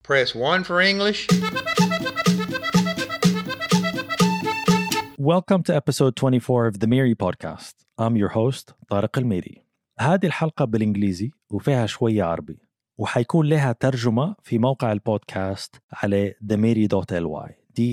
Press 1 for English. Welcome to episode 24 of the Miri podcast. I'm your host طارق الميري. هذه الحلقة بالإنجليزي وفيها شوية عربي وحيكون لها ترجمة في موقع البودكاست على damiri.ly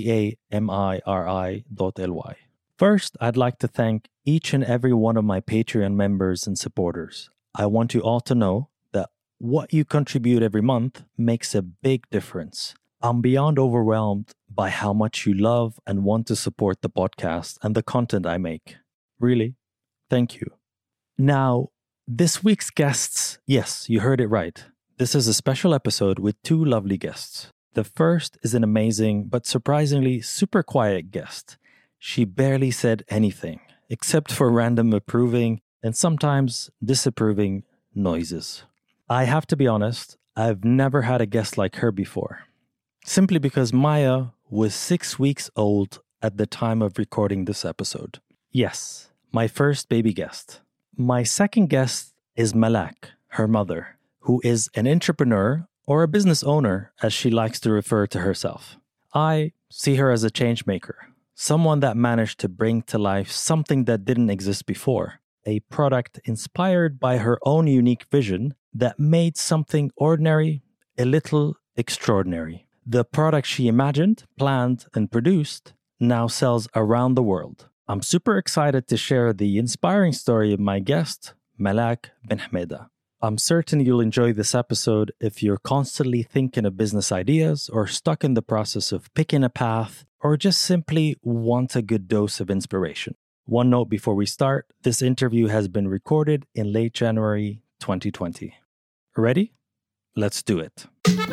damiri.ly. First, I'd like to thank each and every one of my Patreon members and supporters. I want you all to know that what you contribute every month makes a big difference. I'm beyond overwhelmed by how much you love and want to support the podcast and the content I make. Really, thank you. Now, this week's guests, yes, you heard it right. This is a special episode with two lovely guests. The first is an amazing but surprisingly super quiet guest. She barely said anything except for random approving and sometimes disapproving noises. I have to be honest, I've never had a guest like her before. Simply because Maya was 6 weeks old at the time of recording this episode. Yes, my first baby guest. My second guest is Malak, her mother, who is an entrepreneur or a business owner, as she likes to refer to herself. I see her as a change maker, someone that managed to bring to life something that didn't exist before, a product inspired by her own unique vision that made something ordinary a little extraordinary. The product she imagined, planned, and produced now sells around the world. I'm super excited to share the inspiring story of my guest, Malak Ben Hameda. I'm certain you'll enjoy this episode if you're constantly thinking of business ideas or stuck in the process of picking a path or just simply want a good dose of inspiration. One note before we start, this interview has been recorded in late January 2020. Ready? Let's do it.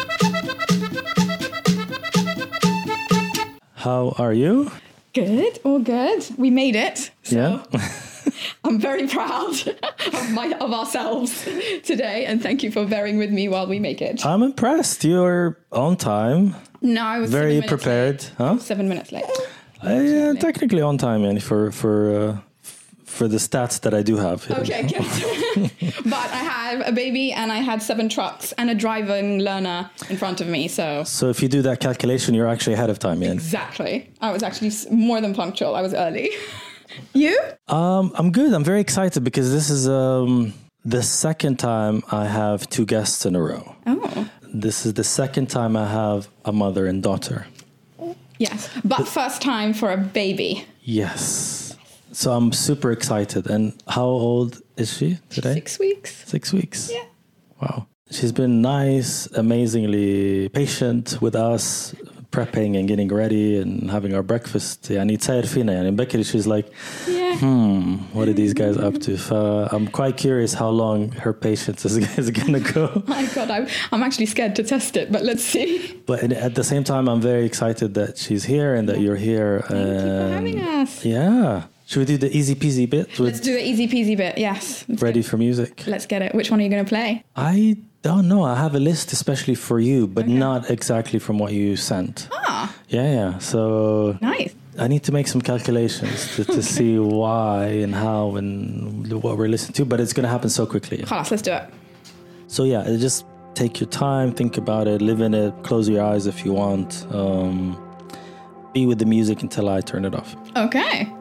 How are you? Good, all good. We made it. So Yeah. I'm very proud of ourselves today, and thank you for bearing with me while we make it. I'm impressed. You're on time. No, I was Very 7 minutes prepared. late. Huh? 7 minutes late. Yeah, technically on time, and for the stats that I do have. Okay, good. But I have a baby and I had 7 trucks and a driving learner in front of me, so... So if you do that calculation, you're actually ahead of time, yeah. Exactly. I was actually more than punctual. I was early. You? I'm good. I'm very excited because this is the second time I have 2 guests in a row. Oh. This is the second time I have a mother and daughter. Yes, but first time for a baby. Yes. So I'm super excited. And how old is she today? 6 weeks. 6 weeks. Yeah. Wow. She's been nice, amazingly patient with us, prepping and getting ready and having our breakfast. يعني تساير فينا يعني بكري. She's like, what are these guys up to? I'm quite curious how long her patience is going to go. My God, I'm actually scared to test it, but let's see. But at the same time, I'm very excited that she's here and that you're here. Thank you for having us. Yeah. Should we do the easy peasy bit? Let's do the easy peasy bit, yes. Ready for music? Let's get it. Which one are you going to play? I don't know. I have a list especially for you, but not exactly from what you sent. Ah. Yeah. So Nice. I need to make some calculations to see why and how and what we're listening to, but it's going to happen so quickly. Khalas, let's do it. So yeah, just take your time, think about it, live in it, close your eyes if you want. Be with the music until I turn it off. Okay.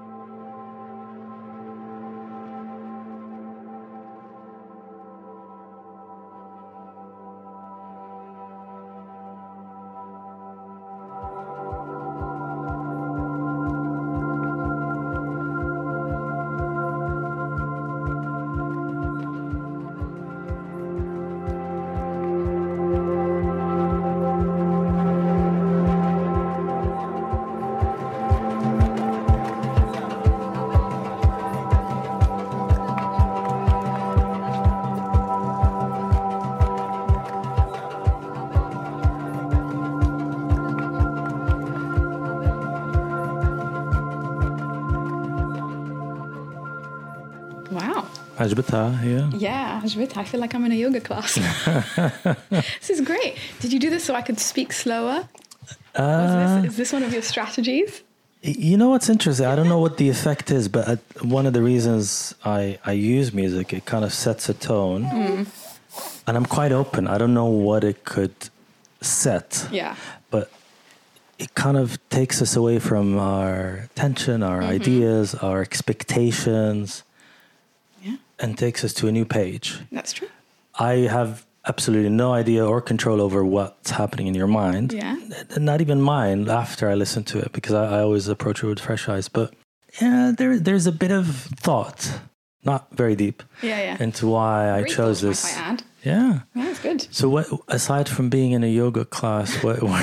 Wow. عجبتها هي؟ Yeah, عجبتها. I feel like I'm in a yoga class. This is great. Did you do this so I could speak slower? Is this one of your strategies? You know what's interesting? I don't know what the effect is, but one of the reasons I use music, it kind of sets a tone. And I'm quite open. I don't know what it could set. Yeah. But it kind of takes us away from our attention, our ideas, our expectations, and takes us to a new page. That's true. I have absolutely no idea or control over what's happening in your mind. Yeah. Not even mine after I listen to it, because I always approach it with fresh eyes. But yeah, there's a bit of thought, not very deep, into why I chose this. Might I add. Yeah. Yeah, that's good. So what, aside from being in a yoga class,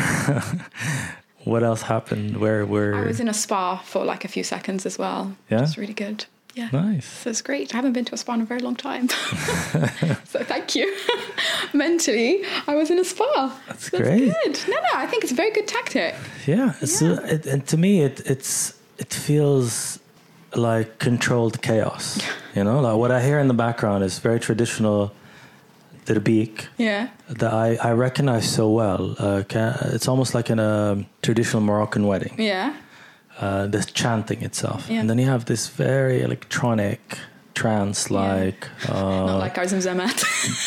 what else happened? Where I was in a spa for like a few seconds as well. Yeah. It's really good. Yeah. Nice. So it's great. I haven't been to a spa in a very long time. So thank you. Mentally, I was in a spa. That's great. Good. No, I think it's a very good tactic. Yeah. So, and to me, it feels like controlled chaos. You know, like what I hear in the background is very traditional terbeek. Yeah. That I recognize so well. It's almost like in a traditional Moroccan wedding. Yeah. The chanting itself. Yeah. And then you have this very electronic trance-like... Not like ours in Zermatt.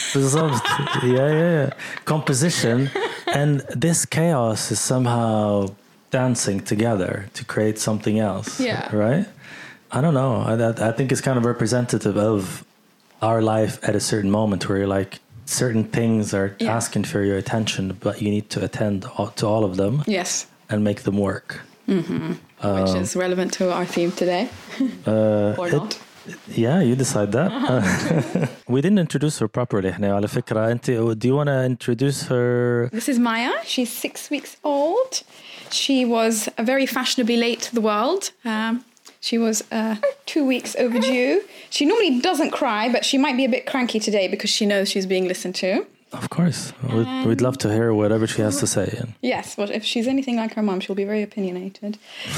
composition. And this chaos is somehow dancing together to create something else. Yeah. Right? I don't know. I think it's kind of representative of our life at a certain moment where you're like, certain things are asking for your attention, but you need to attend to all of them. Yes. And make them work. Mm-hmm. Which is relevant to our theme today. Or not. Yeah, you decide that. We didn't introduce her properly. على فكرة, do you want to introduce her? This is Maya. She's 6 weeks old. She was very fashionably late to the world. She was 2 weeks overdue. She normally doesn't cry, but she might be a bit cranky today because she knows she's being listened to. Of course. We'd love to hear whatever she has to say. Yes, but if she's anything like her mum, she'll be very opinionated.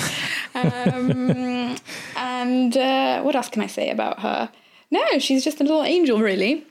And what else can I say about her? No, she's just a little angel, really.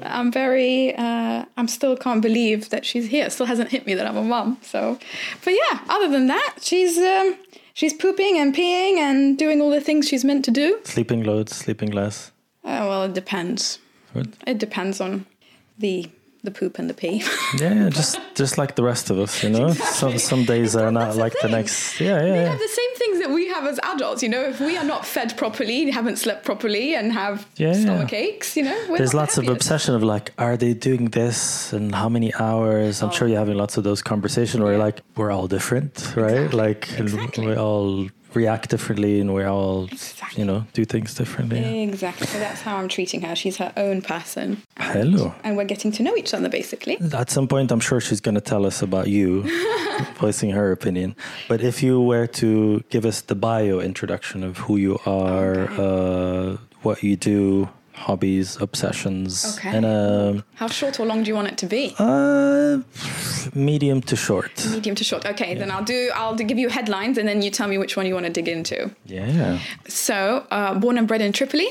I'm still can't believe that she's here. It still hasn't hit me that I'm a mum. So, but yeah, other than that, she's pooping and peeing and doing all the things she's meant to do. Sleeping loads, sleeping less. Well, it depends. What? It depends on the poop and the pee. Yeah, just like the rest of us, you know. Some days are not like the next. They have the same things that we have as adults, you know. If we are not fed properly, haven't slept properly, and have stomach aches, you know. There's lots of obsession of like, are they doing this and how many hours? I'm sure you're having lots of those conversations where you're like, we're all different, right? Exactly. We all react differently and we all, you know, do things differently. Exactly. So that's how I'm treating her. She's her own person. Hello. And we're getting to know each other, basically. At some point, I'm sure she's going to tell us about you, voicing her opinion. But if you were to give us the bio introduction of who you are, what you do, hobbies, obsessions. Okay. And how short or long do you want it to be? Medium to short. Medium to short. Okay, then I'll give you headlines and then you tell me which one you want to dig into. Yeah. So, born and bred in Tripoli.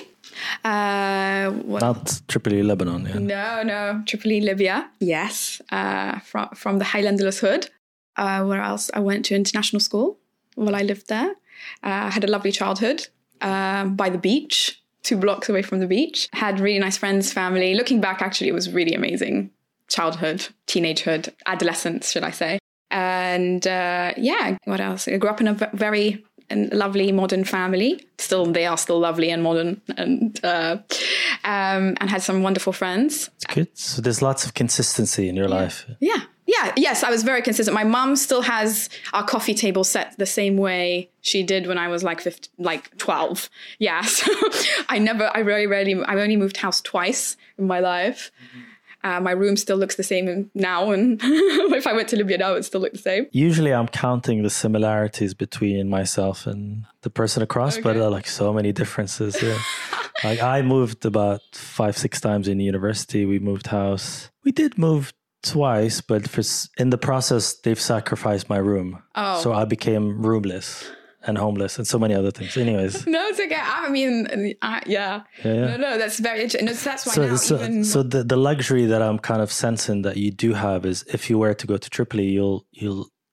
Not Tripoli, Lebanon. Yeah. No, Tripoli, Libya. Yes. From the Highlanders hood. Where else? I went to international school while I lived there. Had a lovely childhood by the beach. 2 blocks away from the beach. Had really nice friends, family. Looking back, actually, it was really amazing. Childhood, teenagehood, adolescence, should I say. And what else? I grew up in a very lovely modern family. They are still lovely and modern, and had some wonderful friends. It's good. So there's lots of consistency in your life. Yeah. Yes, I was very consistent. My mum still has our coffee table set the same way she did when I was like 12. Yeah, so I only moved house twice in my life. My room still looks the same now, and if I went to Libya now, it would still look the same. Usually I'm counting the similarities between myself and the person across, but there are like so many differences. Yeah. Like I moved about 5-6 times in university. We moved house. We did move twice, but in the process, they've sacrificed my room. Oh. So I became roomless and homeless and so many other things. Anyways. No, it's okay. I mean, yeah. No, that's very interesting. That's why So the luxury that I'm kind of sensing that you do have is if you were to go to Tripoli, you'll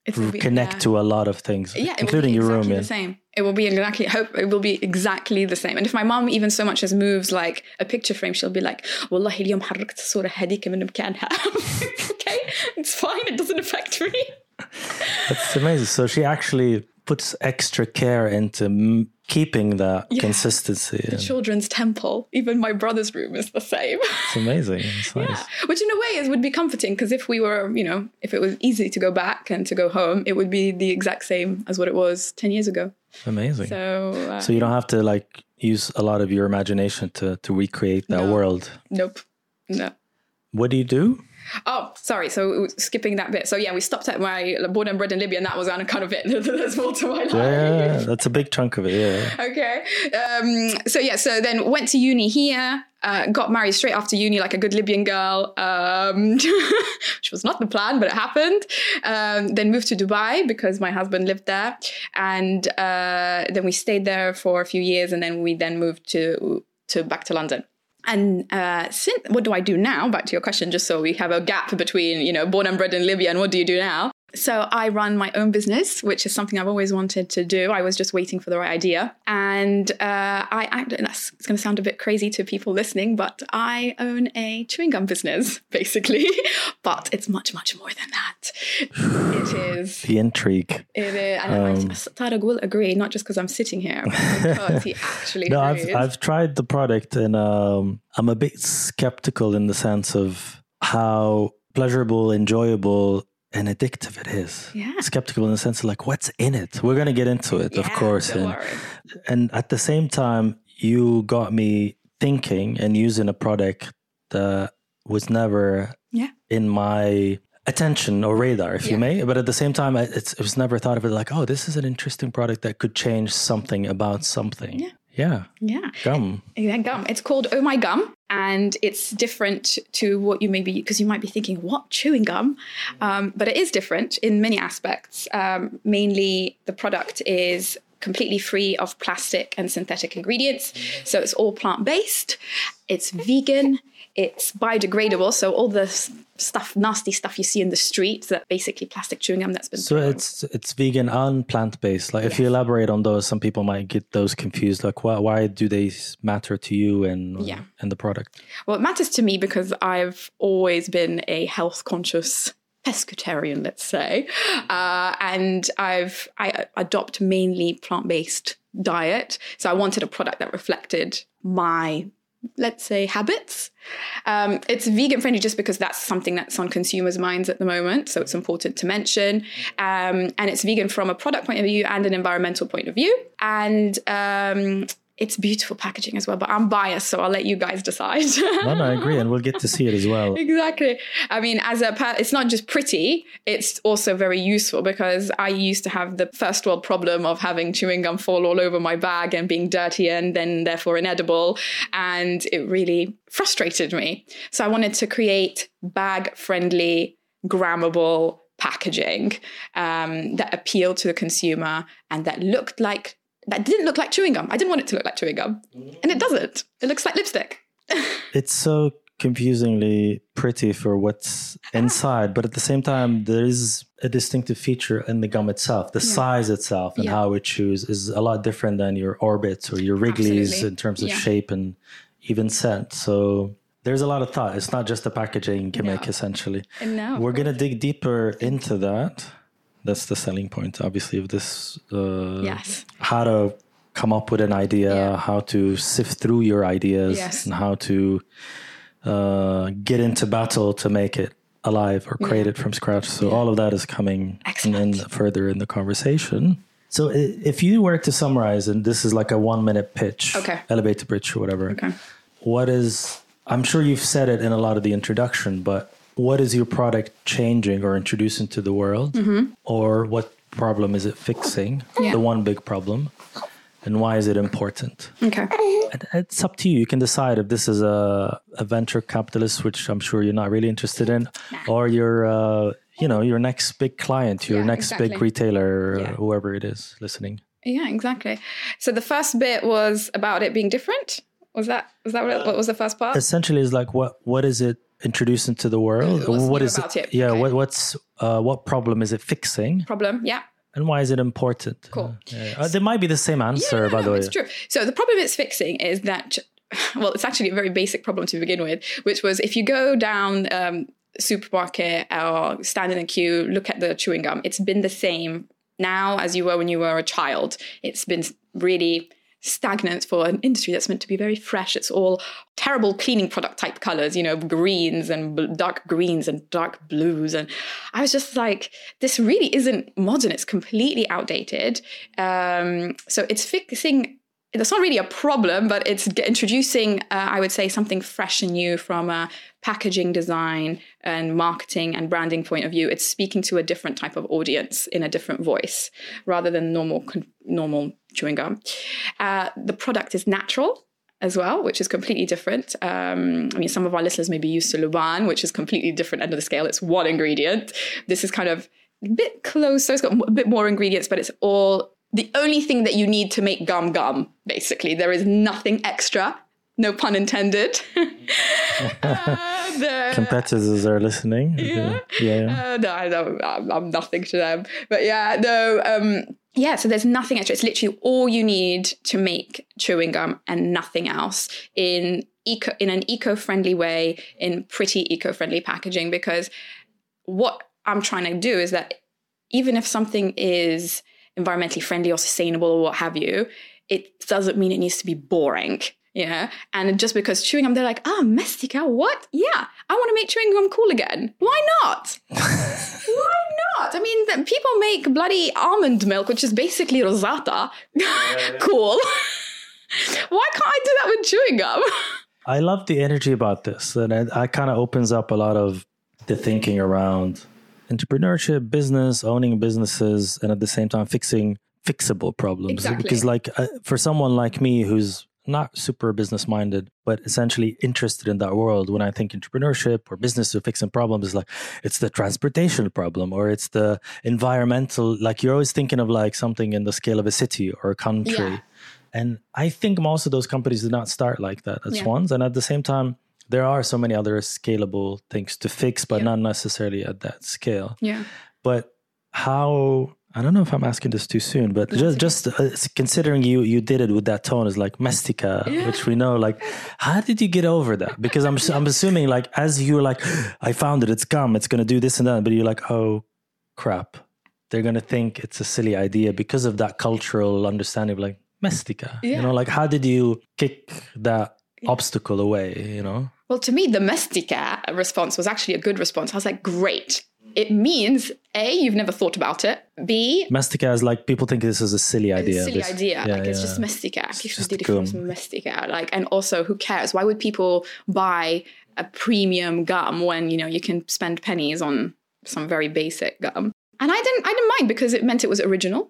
connect to a lot of things, including your room. Yeah, the same. It will be exactly the same. And if my mom even so much as moves like a picture frame, she'll be like, "Wallahi اليوم حركت الصورة هذيك من مكانها." Okay, it's fine. It doesn't affect me. That's amazing. So she actually puts extra care into keeping that consistency. The children's temple. Even my brother's room is the same. It's amazing. It's nice. Which in a way would be comforting, because if we were, if it was easy to go back and to go home, it would be the exact same as what it was 10 years ago. Amazing. So you don't have to use a lot of your imagination to recreate that world. Nope. No. What do you do? Oh, sorry. So skipping that bit. So we stopped at my born and bred in Libya, and that was kind of it. There's more to my life. Yeah, that's a big chunk of it. Yeah. Okay. So then went to uni here. Got married straight after uni, like a good Libyan girl, which was not the plan, but it happened. Then moved to Dubai because my husband lived there, and then we stayed there for a few years, and then we moved to back to London. And what do I do now? Back to your question, just so we have a gap between, born and bred in Libya and what do you do now? So I run my own business, which is something I've always wanted to do. I was just waiting for the right idea. And it's going to sound a bit crazy to people listening, but I own a chewing gum business, basically. But it's much, much more than that. It is. The intrigue. It is. And Tariq will agree, not just because I'm sitting here, but because he actually agrees. I've tried the product, and I'm a bit skeptical in the sense of how pleasurable, enjoyable, and addictive it is. Yeah. Skeptical in the sense of what's in it? We're going to get into it, of course. Don't worry. And at the same time, you got me thinking and using a product that was never in my attention or radar, if you may. But at the same time, it was never thought of it this is an interesting product that could change something about something. Yeah. Gum. Yeah, gum. It's called Oh My Gum, and it's different to what you may be, because you might be thinking, what, chewing gum? But it is different in many aspects. Mainly, the product is completely free of plastic and synthetic ingredients. So it's all plant-based. It's vegan. It's biodegradable. So all the nasty stuff you see in the street, that basically plastic chewing gum that's been thrown. It's vegan and plant-based. If you elaborate on those, some people might get those confused. Why do they matter to you and the product? Well, it matters to me because I've always been a health-conscious pescatarian, let's say. And I adopt mainly plant-based diet. So I wanted a product that reflected my, let's say, habits. It's vegan friendly just because that's something that's on consumers' minds at the moment. So it's important to mention. And it's vegan from a product point of view and an environmental point of view. And it's beautiful packaging as well, but I'm biased, so I'll let you guys decide. No, I agree. And we'll get to see it as well. Exactly. I mean, it's not just pretty, it's also very useful, because I used to have the first world problem of having chewing gum fall all over my bag and being dirty and then therefore inedible. And it really frustrated me. So I wanted to create bag-friendly, grammable packaging that appealed to the consumer and that didn't look like chewing gum. I didn't want it to look like chewing gum. And it doesn't. It looks like lipstick. It's so confusingly pretty for what's inside. But at the same time, there is a distinctive feature in the gum itself. The size itself and how it chews is a lot different than your Orbits or your Wrigley's. Absolutely. In terms of shape and even scent. So there's a lot of thought. It's not just a packaging gimmick, essentially. No. We're going to dig deeper into that. That's the selling point, obviously, of this. How to come up with an idea, how to sift through your ideas, and how to get into battle to make it alive or create it from scratch. So all of that is coming in further in the conversation. So if you were to summarize, and this is like a 1-minute pitch, elevator pitch or whatever, what is, I'm sure you've said it in a lot of the introduction, but what is your product changing or introducing to the world? Or what problem is it fixing? The one big problem. And why is it important? Okay. And it's up to you. You can decide if this is a venture capitalist, which I'm sure you're not really interested in, or your next big client, your next big retailer, whoever it is listening. Yeah, exactly. So the first bit was about it being different. Was that what was the first part? Essentially, is like what is it introducing to the world? What is it? Yeah. Okay. What's what problem is it fixing? Problem, yeah. And why is it important? Cool. There might be the same answer, by the way. It's true. So the problem it's fixing is that, well, it's actually a very basic problem to begin with, which was if you go down supermarket or stand in a queue, look at the chewing gum, it's been the same now as you were when you were a child. It's been really stagnant for an industry that's meant to be very fresh. It's all terrible cleaning product type colors, greens and dark greens and dark blues. And I was just like, this really isn't modern. It's completely outdated. So it's fixing, that's not really a problem, but it's introducing, I would say, something fresh and new from a packaging design and marketing and branding point of view. It's speaking to a different type of audience in a different voice rather than normal chewing gum. The product is natural as well, which is completely different. Some of our listeners may be used to Luban, which is completely different end of the scale. It's one ingredient. This is kind of a bit closer. It's got a bit more ingredients, but it's all the only thing that you need to make gum, basically. There is nothing extra. No pun intended. Competitors are listening. Yeah. I'm nothing to them. But so there's nothing extra. It's literally all you need to make chewing gum and nothing else in an eco-friendly way, in pretty eco-friendly packaging. Because what I'm trying to do is that even if something is environmentally friendly or sustainable or what have you, it doesn't mean it needs to be boring. Yeah. And just because chewing gum, they're like, Mestica, what? Yeah, I want to make chewing gum cool again. Why not? Why not? I mean, people make bloody almond milk, which is basically rosata. Cool. Why can't I do that with chewing gum? I love the energy about this. And it kind of opens up a lot of the thinking around entrepreneurship, business, owning businesses, and at the same time fixing fixable problems. Exactly. Because for someone like me who's not super business minded, but essentially interested in that world, when I think entrepreneurship or business or fixing problems, it's the transportation problem or it's the environmental, you're always thinking of something in the scale of a city or a country. Yeah. And I think most of those companies did not start like that at once. And at the same time, there are so many other scalable things to fix, but not necessarily at that scale. Yeah. But how, I don't know if I'm asking this too soon, but just considering you did it with that tone is Mestica, which we know, how did you get over that? Because I'm assuming as you were I found it, it's gum, it's going to do this and that, but you're oh crap, they're going to think it's a silly idea because of that cultural understanding of Mestica. How did you kick that obstacle away, Well, to me, the Mestica response was actually a good response. I was like, great. It means, A, you've never thought about it. B, Mestica is people think this is a silly idea. It's just Mestica. If it was Mestica. And also, who cares? Why would people buy a premium gum when, you can spend pennies on some very basic gum? And I didn't mind because it meant it was original,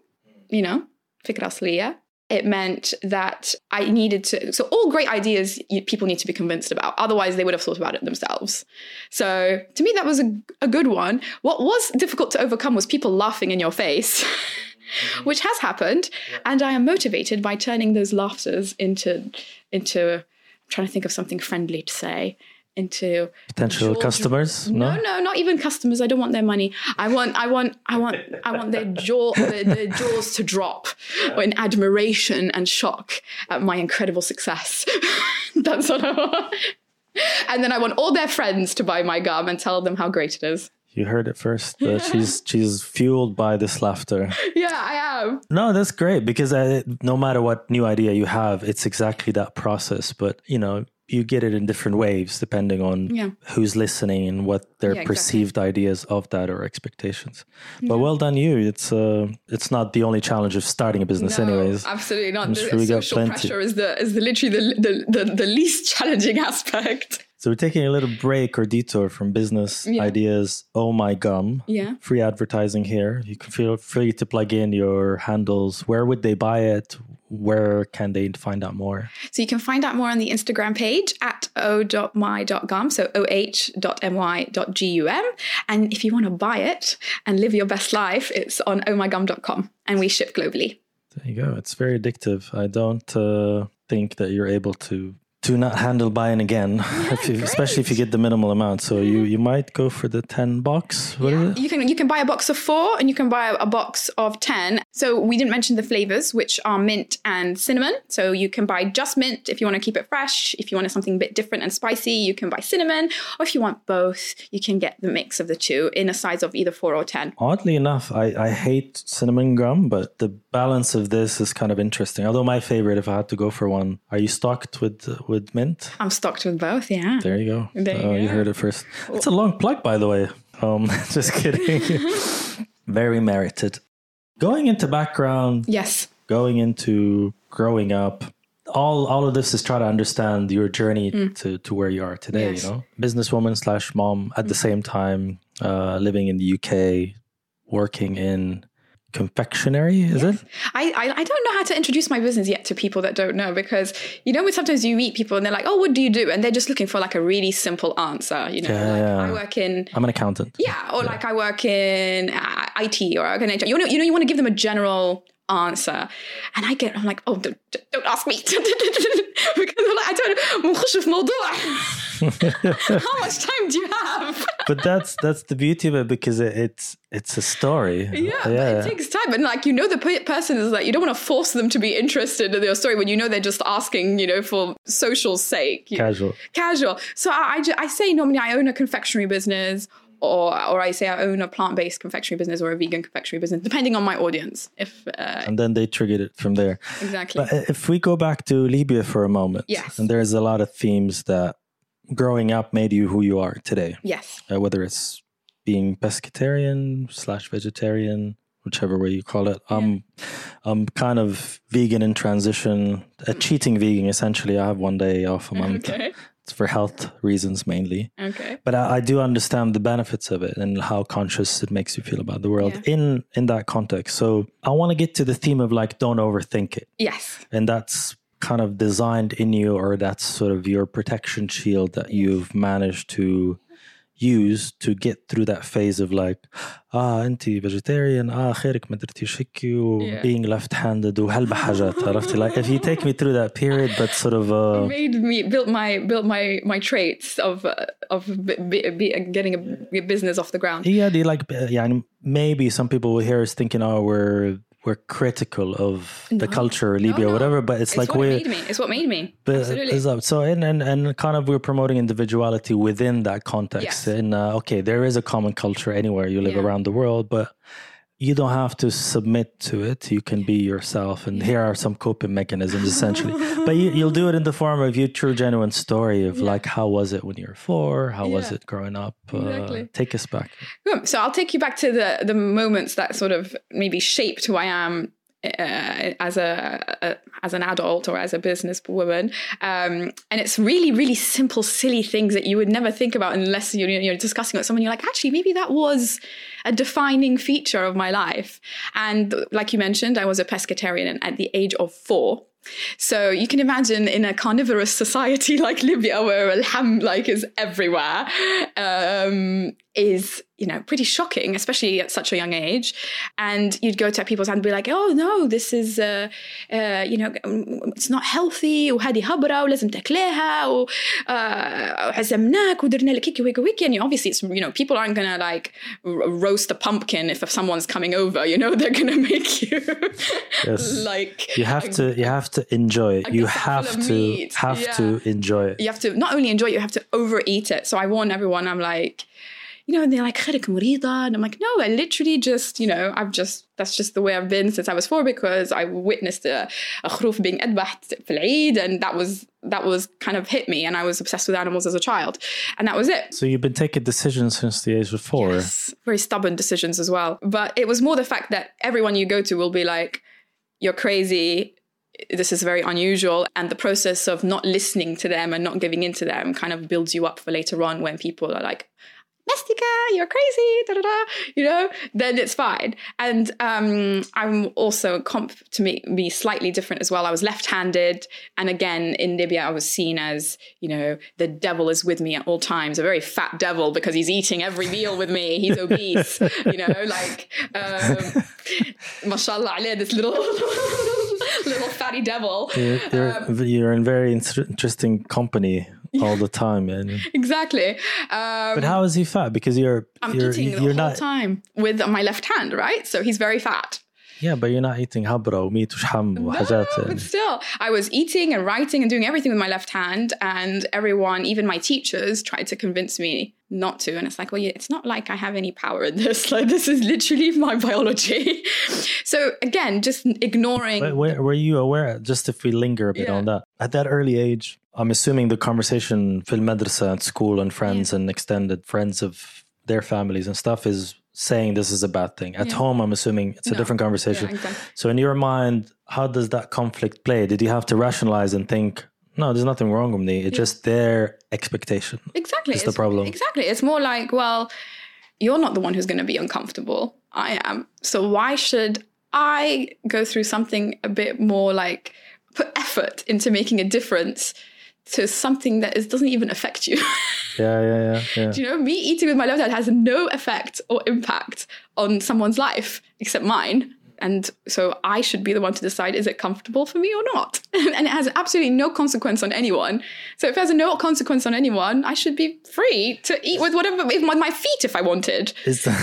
Fikra asliya. It meant that I needed to... So all great ideas people need to be convinced about. Otherwise, they would have thought about it themselves. So to me, that was a good one. What was difficult to overcome was people laughing in your face, which has happened. And I am motivated by turning those laughters into I'm trying to think of something friendly to say, into potential customers. No, not even customers. I don't want their money. I want their jaws to drop in admiration and shock at my incredible success. That's what I want. And then I want all their friends to buy my gum and tell them how great it is. You heard it first. She's fueled by this laughter. Yeah, I am. No, that's great because no matter what new idea you have, it's exactly that process. But you get it in different waves depending on who's listening and what their perceived ideas of that or expectations. But well done you. It's not the only challenge of starting a business anyways. Absolutely not. Social pressure is literally the least challenging aspect. So we're taking a little break or detour from business ideas. Oh my gum. Yeah. Free advertising here. You can feel free to plug in your handles. Where would they buy it? Where can they find out more? So you can find out more on the Instagram page at o.my.gum, so oh.my.gum. And if you want to buy it and live your best life, it's on ohmygum.com and we ship globally. There you go. It's very addictive. I don't think that you're able to do not handle buying again, especially if you get the minimal amount. So you might go for the 10 box. What is it? You can buy a box of 4 and you can buy a box of 10. So we didn't mention the flavors, which are mint and cinnamon. So you can buy just mint if you want to keep it fresh. If you want something a bit different and spicy, you can buy cinnamon. Or if you want both, you can get the mix of the two in a size of either 4 or 10. Oddly enough, I hate cinnamon gum, but the balance of this is kind of interesting. Although my favorite, if I had to go for one, are you stocked with mint? I'm stocked with both, yeah. There you go. You heard it first. It's a long plug, by the way. Just kidding. Very merited. Going into background. Yes. Going into growing up. All of this is trying to understand your journey to where you are today, Yes. you know? Businesswoman / mom at the same time, living in the UK, working in confectionery, is it? I don't know how to introduce my business yet to people that don't know, because sometimes you meet people and they're like, oh, what do you do? And they're just looking for like a really simple answer. I work in... I'm an accountant. Yeah, or like I work in IT or I work in HR. You want to give them a general answer. And I'm like, oh, don't ask me. Because I'm like, how much time do you have? But that's the beauty of it, because it's a story. Yeah. But it takes time. And like, the person is like, you don't want to force them to be interested in your story when they're just asking, for social sake. Casual. So I say normally I own a confectionery business, or I say I own a plant-based confectionery business or a vegan confectionery business, depending on my audience. And then they triggered it from there. Exactly. But if we go back to Libya for a moment, yes. And there's a lot of themes that growing up made you who you are today. Yes. Whether it's being pescatarian / vegetarian, whichever way you call it. Yeah. I'm kind of vegan in transition, a cheating vegan, essentially. I have one day off a month. Okay. It's for health reasons mainly. Okay. But I do understand the benefits of it and how conscious it makes you feel about the world in that context. So I want to get to the theme of like, don't overthink it. Yes. And that's kind of designed in you, or that's sort of your protection shield that you've managed to use to get through that phase of like, انتي vegetarian, خيرك ما درتيش هيك, being left-handed وهلبة حاجات, عرفتي? Like if you take me through that period, but sort of built my traits of getting a business off the ground. Yeah, maybe some people will hear us thinking, we're critical of the culture, Libya, or whatever, but it's like it's what made me. Absolutely. So and kind of we're promoting individuality within that context. Yes. And there is a common culture anywhere you live around the world, but you don't have to submit to it. You can be yourself, and here are some coping mechanisms essentially. But you'll do it in the form of your true, genuine story of like, how was it when you were 4? How was it growing up? Exactly. Take us back. So I'll take you back to the moments that sort of maybe shaped who I am as an adult or as a businesswoman, and it's really, really simple, silly things that you would never think about unless you're discussing with someone. You're like, actually, maybe that was a defining feature of my life. And like you mentioned, I was a pescatarian at the age of 4. So you can imagine in a carnivorous society like Libya, where al-ham is everywhere, is pretty shocking, especially at such a young age. And you'd go to people's and be like, oh no, this is it's not healthy, وهذه هبرة ولازم تاكلها وعزمناك ودرنا لك هيك وهيك وهيك. And obviously it's people aren't gonna like roast a pumpkin if someone's coming over. They're gonna make you like you have to enjoy it. You have to enjoy it. You have to not only enjoy it, you have to overeat it. So I warn everyone. I'm like, and they're like, خيرك مريضة? And I'm like, no, I literally just, that's just the way I've been since I was 4, because I witnessed a خروف being أذبح في العيد, and that was kind of hit me, and I was obsessed with animals as a child, and that was it. So you've been taking decisions since the age of 4. Yes, very stubborn decisions as well. But it was more the fact that everyone you go to will be like, you're crazy, this is very unusual, and the process of not listening to them and not giving in to them kind of builds you up for later on when people are like, Mestika, you're crazy, then it's fine. And I'm also, to be slightly different as well. I was left-handed. And again, in Libya, I was seen as, the devil is with me at all times, a very fat devil, because he's eating every meal with me. He's obese, mashallah, this little... little fatty devil. You're in very interesting company all the time. And exactly. but how is he fat? Because I'm eating the whole time with my left hand, right? So he's very fat. Yeah, but you're not eating habra وميت وشحم وحاجات. No, but still, I was eating and writing and doing everything with my left hand, and everyone, even my teachers, tried to convince me not to. And it's like, well, yeah, it's not like I have any power in this. Like, this is literally my biology. So again, just ignoring. But were you aware? Just if we linger a bit on that, at that early age, I'm assuming the conversation في المدرسة at school and friends and extended friends of their families and stuff is saying this is a bad thing. At home, I'm assuming it's a different conversation. Yeah, exactly. So in your mind, how does that conflict play? Did you have to rationalize and think, no, there's nothing wrong with me. It's just their expectation. Exactly. It's the problem. Exactly. It's more like, well, you're not the one who's going to be uncomfortable. I am. So why should I go through something a bit more like put effort into making a difference to something that doesn't even affect you? Yeah. Do you know, me eating with my left hand has no effect or impact on someone's life except mine. And so I should be the one to decide, is it comfortable for me or not? And it has absolutely no consequence on anyone. So if it has no consequence on anyone, I should be free to eat with whatever, with my feet if I wanted.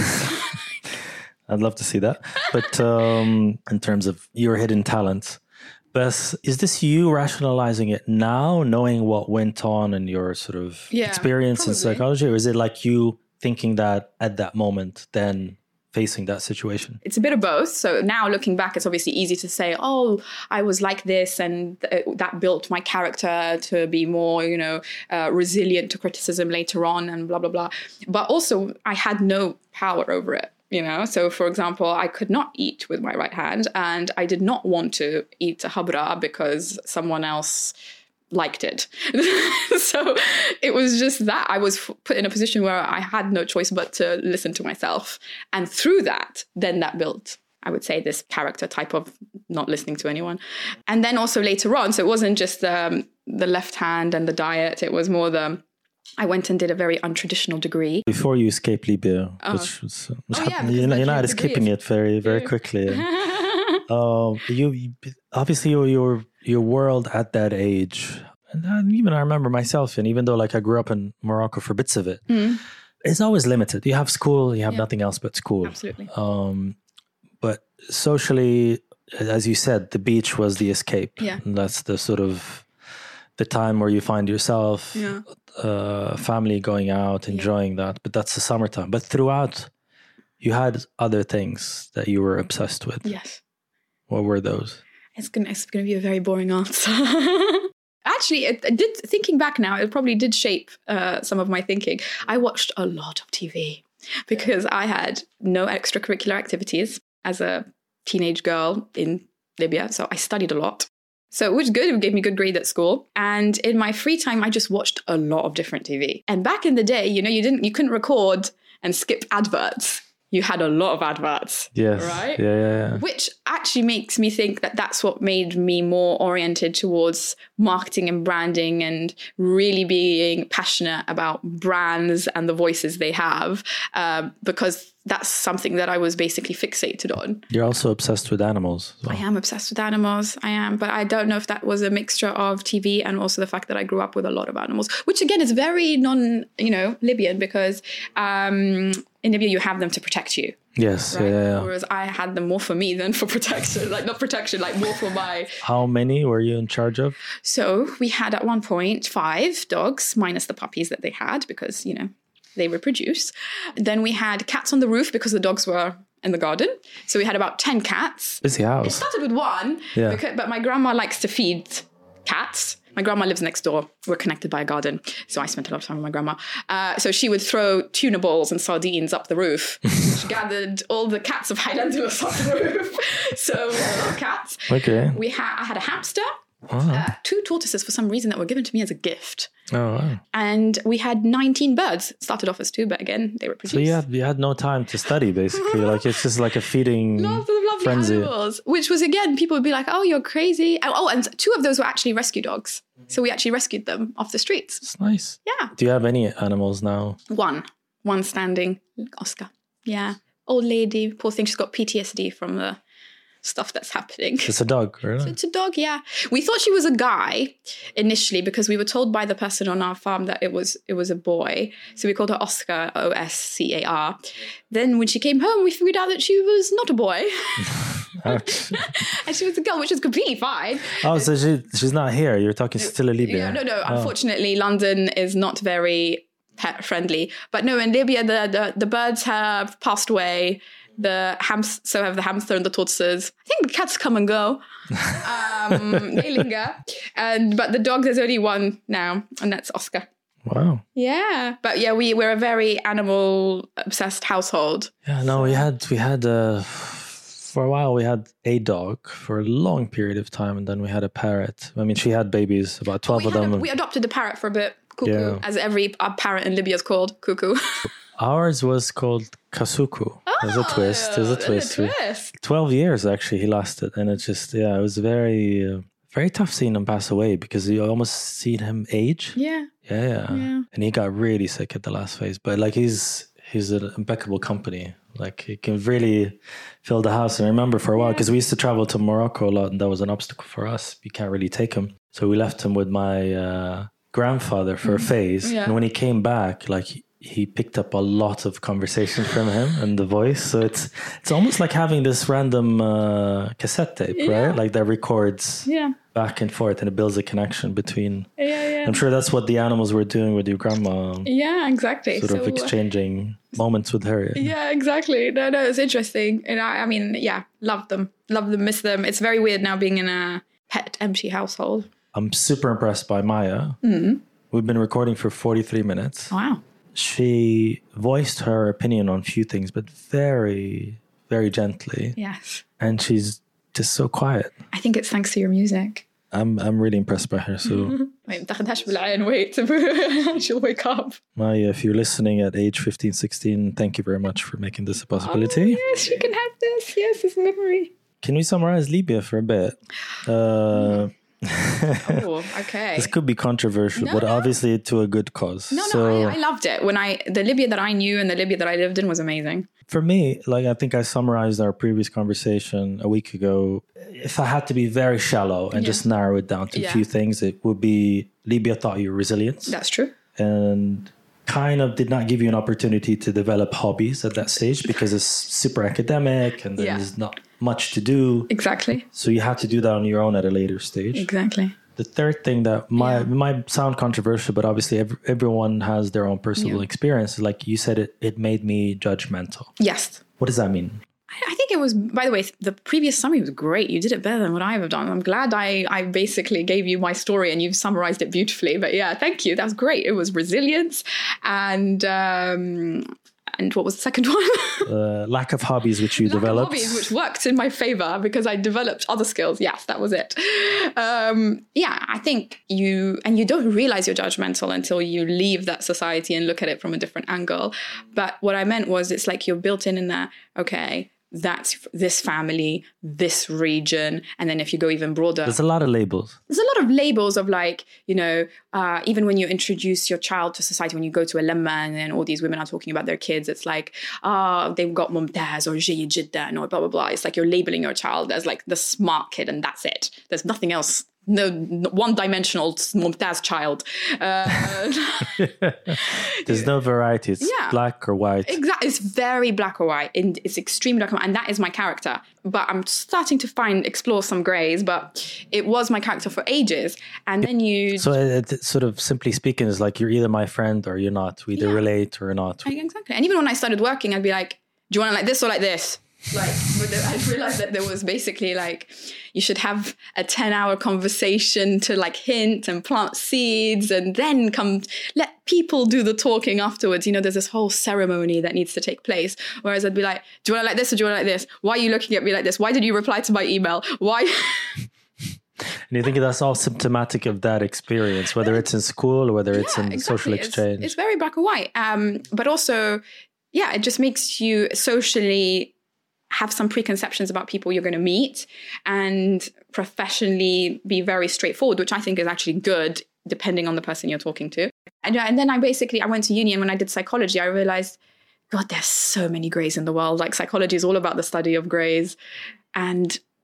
I'd love to see that. But in terms of your hidden talents, Beth, is this you rationalizing it now, knowing what went on in your sort of experience in psychology? Or is it like you thinking that at that moment, then facing that situation? It's a bit of both. So now looking back, it's obviously easy to say, oh, I was like this and that built my character to be more, resilient to criticism later on and blah, blah, blah. But also I had no power over it. So for example, I could not eat with my right hand and I did not want to eat a habra because someone else liked it. So it was just that I was put in a position where I had no choice but to listen to myself. And through that, then that built, I would say, this character type of not listening to anyone. And then also later on, so it wasn't just the left hand and the diet, it was more I went and did a very untraditional degree. Before you escaped Libya, which was, you're not escaping it very, very quickly. You obviously your world at that age, and even I remember myself, and even though like I grew up in Morocco for bits of it, it's always limited. You have school, you have nothing else but school. Absolutely. But socially, as you said, the beach was the escape. Yeah. And that's the sort of the time where you find yourself, family going out, enjoying that. But that's the summertime. But throughout, you had other things that you were obsessed with. Yes. What were those? It's gonna be a very boring answer. Actually, it did. Thinking back now, it probably did shape some of my thinking. I watched a lot of TV because I had no extracurricular activities as a teenage girl in Libya. So I studied a lot. So it was good. It gave me good grades at school. And in my free time, I just watched a lot of different TV. And back in the day, you couldn't record and skip adverts. You had a lot of adverts. Yes. Right? Yeah. Which actually makes me think that that's what made me more oriented towards marketing and branding and really being passionate about brands and the voices they have, because that's something that I was basically fixated on. You're also obsessed with animals. I am obsessed with animals. I am. But I don't know if that was a mixture of TV and also the fact that I grew up with a lot of animals, which again is very Libyan because in Libya you have them to protect you. Yes. Right? Yeah. Whereas I had them more for me than for protection. Like not protection, like more for my... How many were you in charge of? So we had at one point 5 dogs, minus the puppies that they had because, they reproduce. Then we had cats on the roof because the dogs were in the garden. So we had about 10 cats. Busy house. It started with 1, but my grandma likes to feed cats. My grandma lives next door. We're connected by a garden. So I spent a lot of time with my grandma. So she would throw tuna balls and sardines up the roof. She gathered all the cats of Highlanders up the roof. So we had a lot of cats. Okay. I had a hamster. Oh. 2 tortoises for some reason that were given to me as a gift. Oh, wow. And we had 19 birds. It started off as 2, but again, they were produced. So you had no time to study, basically. Like it's just like a feeding lovely frenzy. Animals, which was again, people would be like, "Oh, you're crazy." And 2 of those were actually rescue dogs. So we actually rescued them off the streets. It's nice. Yeah. Do you have any animals now? One standing, Oscar. Yeah, old lady, poor thing. She's got PTSD from the stuff that's happening. It's a dog, really? It's a dog, yeah. We thought she was a guy initially because we were told by the person on our farm that it was a boy. So we called her Oscar, Oscar. Then when she came home, we figured out that she was not a boy. And she was a girl, which is completely fine. Oh, so she's not here. You're talking still in Libya. Yeah, no. Unfortunately, London is not very pet friendly. But no, in Libya, the birds have passed away. So have the hamster and the tortoises. I think the cats come and go. They linger. But the dog, there's only one now, and that's Oscar. Wow. Yeah. But yeah, we're a very animal obsessed household. Yeah, no, we had for a while we had a dog for a long period of time, and then we had a parrot. I mean, she had babies, about 12 of them. We adopted the parrot for a bit. Cuckoo, as every parrot in Libya is called. Cuckoo. Ours was called Kasuku. There's a twist. There's a twist. 12 years actually he lasted, and it just it was very very tough seeing him pass away because you almost seen him age. Yeah. And he got really sick at the last phase, but like he's an impeccable company. Like he can really fill the house. And I remember for a while, because we used to travel to Morocco a lot, and that was an obstacle for us. You can't really take him, so we left him with my grandfather for a phase. And when he came back, like he picked up a lot of conversation from him and the voice. So it's almost like having this random cassette tape, right? Like that records back and forth, and it builds a connection between. I'm sure that's what the animals were doing with your grandma. Yeah, exactly. Sort of exchanging moments with her. Yeah, exactly. No, it's interesting. And I mean, love them, miss them. It's very weird now being in a pet empty household. I'm super impressed by Maya. We've been recording for 43 minutes. Wow. She voiced her opinion on a few things, but very, very gently. Yes. And she's just so quiet. I think it's thanks to your music. I'm really impressed by her. So wait, she'll wake up. Maya, if you're listening at age 15, 16, thank you very much for making this a possibility. Oh, yes, you can have this. Yes, this memory. Can we summarize Libya for a bit? Okay. This could be controversial, but obviously to a good cause. I loved it. The Libya that I knew and the Libya that I lived in was amazing. For me, like I think I summarized our previous conversation a week ago. If I had to be very shallow and just narrow it down to a few things, it would be Libya taught you resilience. That's true. And kind of did not give you an opportunity to develop hobbies at that stage because it's super academic and there's not much to do. Exactly. So you had to do that on your own at a later stage. Exactly. The third thing that might sound controversial, but obviously everyone has their own personal experience. Like you said, it made me judgmental. Yes. What does that mean? I think it was, by the way, the previous summary was great. You did it better than what I have done. I'm glad I basically gave you my story and you've summarized it beautifully. But yeah, thank you. That was great. It was resilience and what was the second one? Lack of hobbies, which you developed. Hobbies, which worked in my favor because I developed other skills. Yes, that was it. I think you don't realize you're judgmental until you leave that society and look at it from a different angle. But what I meant was it's like you're built in there, okay, that's this family, this region. And then if you go even broader. There's a lot of labels. There's a lot of labels of like, even when you introduce your child to society, when you go to a lemma and then all these women are talking about their kids, it's like, they've got mumtaz or jayyid jiddan or blah, blah, blah. It's like you're labeling your child as like the smart kid and that's it. There's nothing else. No one-dimensional mumtaz child. There's no variety. It's black or white. Exactly. It's very black or white. And it's extremely black and white. And that is my character. But I'm starting to explore some grays. But it was my character for ages. And then So it sort of simply speaking is like you're either my friend or you're not. We either relate or not. Exactly. And even when I started working, I'd be like, do you want it like this or like this? But I realized that there was basically like you should have a 10-hour conversation to like hint and plant seeds and then let people do the talking afterwards. There's this whole ceremony that needs to take place. Whereas I'd be like, do you want it like this or do you want it like this? Why are you looking at me like this? Why did you reply to my email? Why? And you think that's all symptomatic of that experience, whether it's in school or whether it's in social exchange? It's very black and white. But also, it just makes you socially have some preconceptions about people you're going to meet and professionally be very straightforward, which I think is actually good depending on the person you're talking to. And then I went to uni, and when I did psychology, I realized, God, there's so many grays in the world. Like psychology is all about the study of grays. And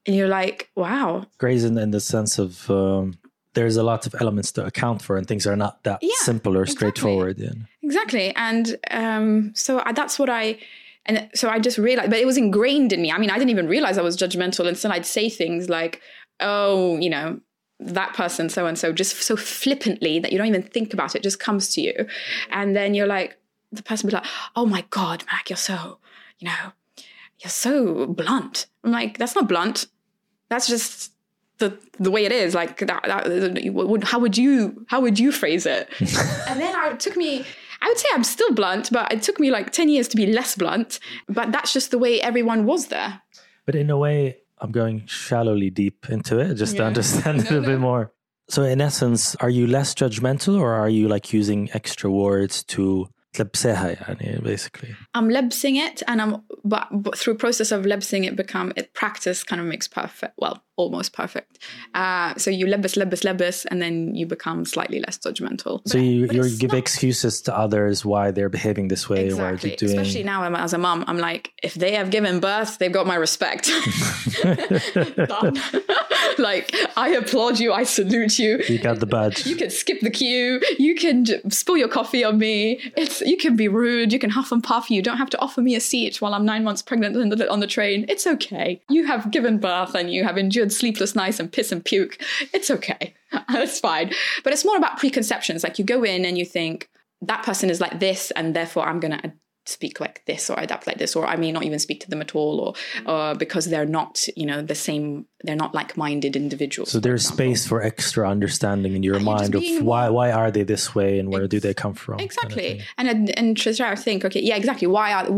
And you're like, wow. Grace in the sense of there's a lot of elements to account for, and things are not that simple or straightforward. Yeah. Exactly. And so that's what and so I just realized, but it was ingrained in me. I mean, I didn't even realize I was judgmental until I'd say things like, oh, you know, that person, so-and-so, just so flippantly that you don't even think about it, just comes to you. And then you're like, the person will be like, oh my God, Mag, you're so, you know, you're so blunt. I'm like, that's not blunt. That's just the way it is. Like how would you phrase it? And then I would say I'm still blunt, but it took me like 10 years to be less blunt. But that's just the way everyone was there. But in a way, I'm going shallowly deep into it just to understand it a bit more. So in essence, are you less judgmental, or are you like using extra words to تلبسها يعني basically? I'm lebsing it, and but through process of lebsing it practice kind of makes perfect. Well, almost perfect. So you lebs, and then you become slightly less judgmental. So you give excuses to others why they're behaving this way. Exactly. Why they're doing... Especially now as a mom, I'm like, if they have given birth, they've got my respect. Like, I applaud you, I salute you. You got the badge. You can skip the queue. You can spill your coffee on me. You can be rude. You can huff and puff. You don't have to offer me a seat while I'm 9 months pregnant on the train. It's okay. You have given birth and you have endured sleepless nights and piss and puke. It's okay. It's fine. But it's more about preconceptions. Like, you go in and you think, that person is like this, and therefore I'm going to speak like this or adapt like this, or I may not even speak to them at all, or because they're not, you know, the same, they're not like-minded individuals. So there's space for extra understanding in your mind of why are they this way, and where do they come from? Exactly. Kind of and to try to think, okay, yeah, exactly.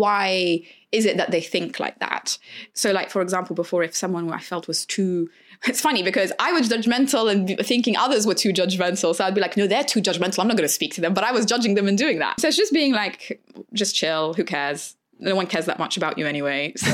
Why is it that they think like that? So like, for example, before, if someone I felt was too, it's funny because I was judgmental and thinking others were too judgmental. So I'd be like, no, they're too judgmental, I'm not going to speak to them. But I was judging them and doing that. So it's just being like, just chill. Who cares? No one cares that much about you anyway. So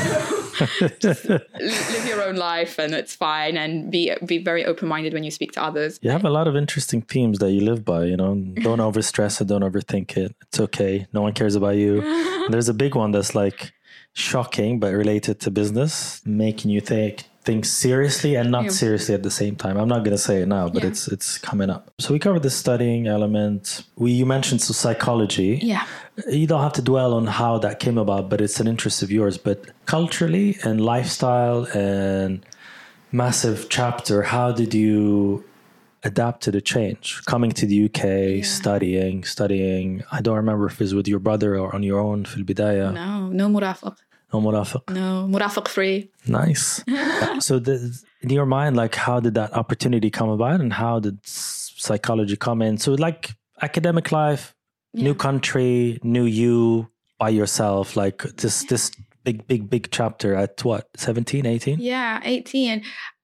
just live your own life and it's fine. And be very open-minded when you speak to others. You have a lot of interesting themes that you live by, you know, don't overstress it, don't overthink it. It's okay. No one cares about you. And there's a big one that's like shocking, but related to business, making you think things seriously and not seriously at the same time. I'm not going to say it now, but it's coming up. So we covered the studying element. You mentioned psychology. Yeah. You don't have to dwell on how that came about, but it's an interest of yours. But culturally and lifestyle and massive chapter, how did you adapt to the change? Coming to the UK, studying. I don't remember if it was with your brother or on your own في البداية. No مرافق. No مرافق. No, مرافق free. Nice. So in your mind, like, how did that opportunity come about, and how did psychology come in? So like academic life, new country, new you by yourself, like this big chapter at what, 17, 18? Yeah, 18.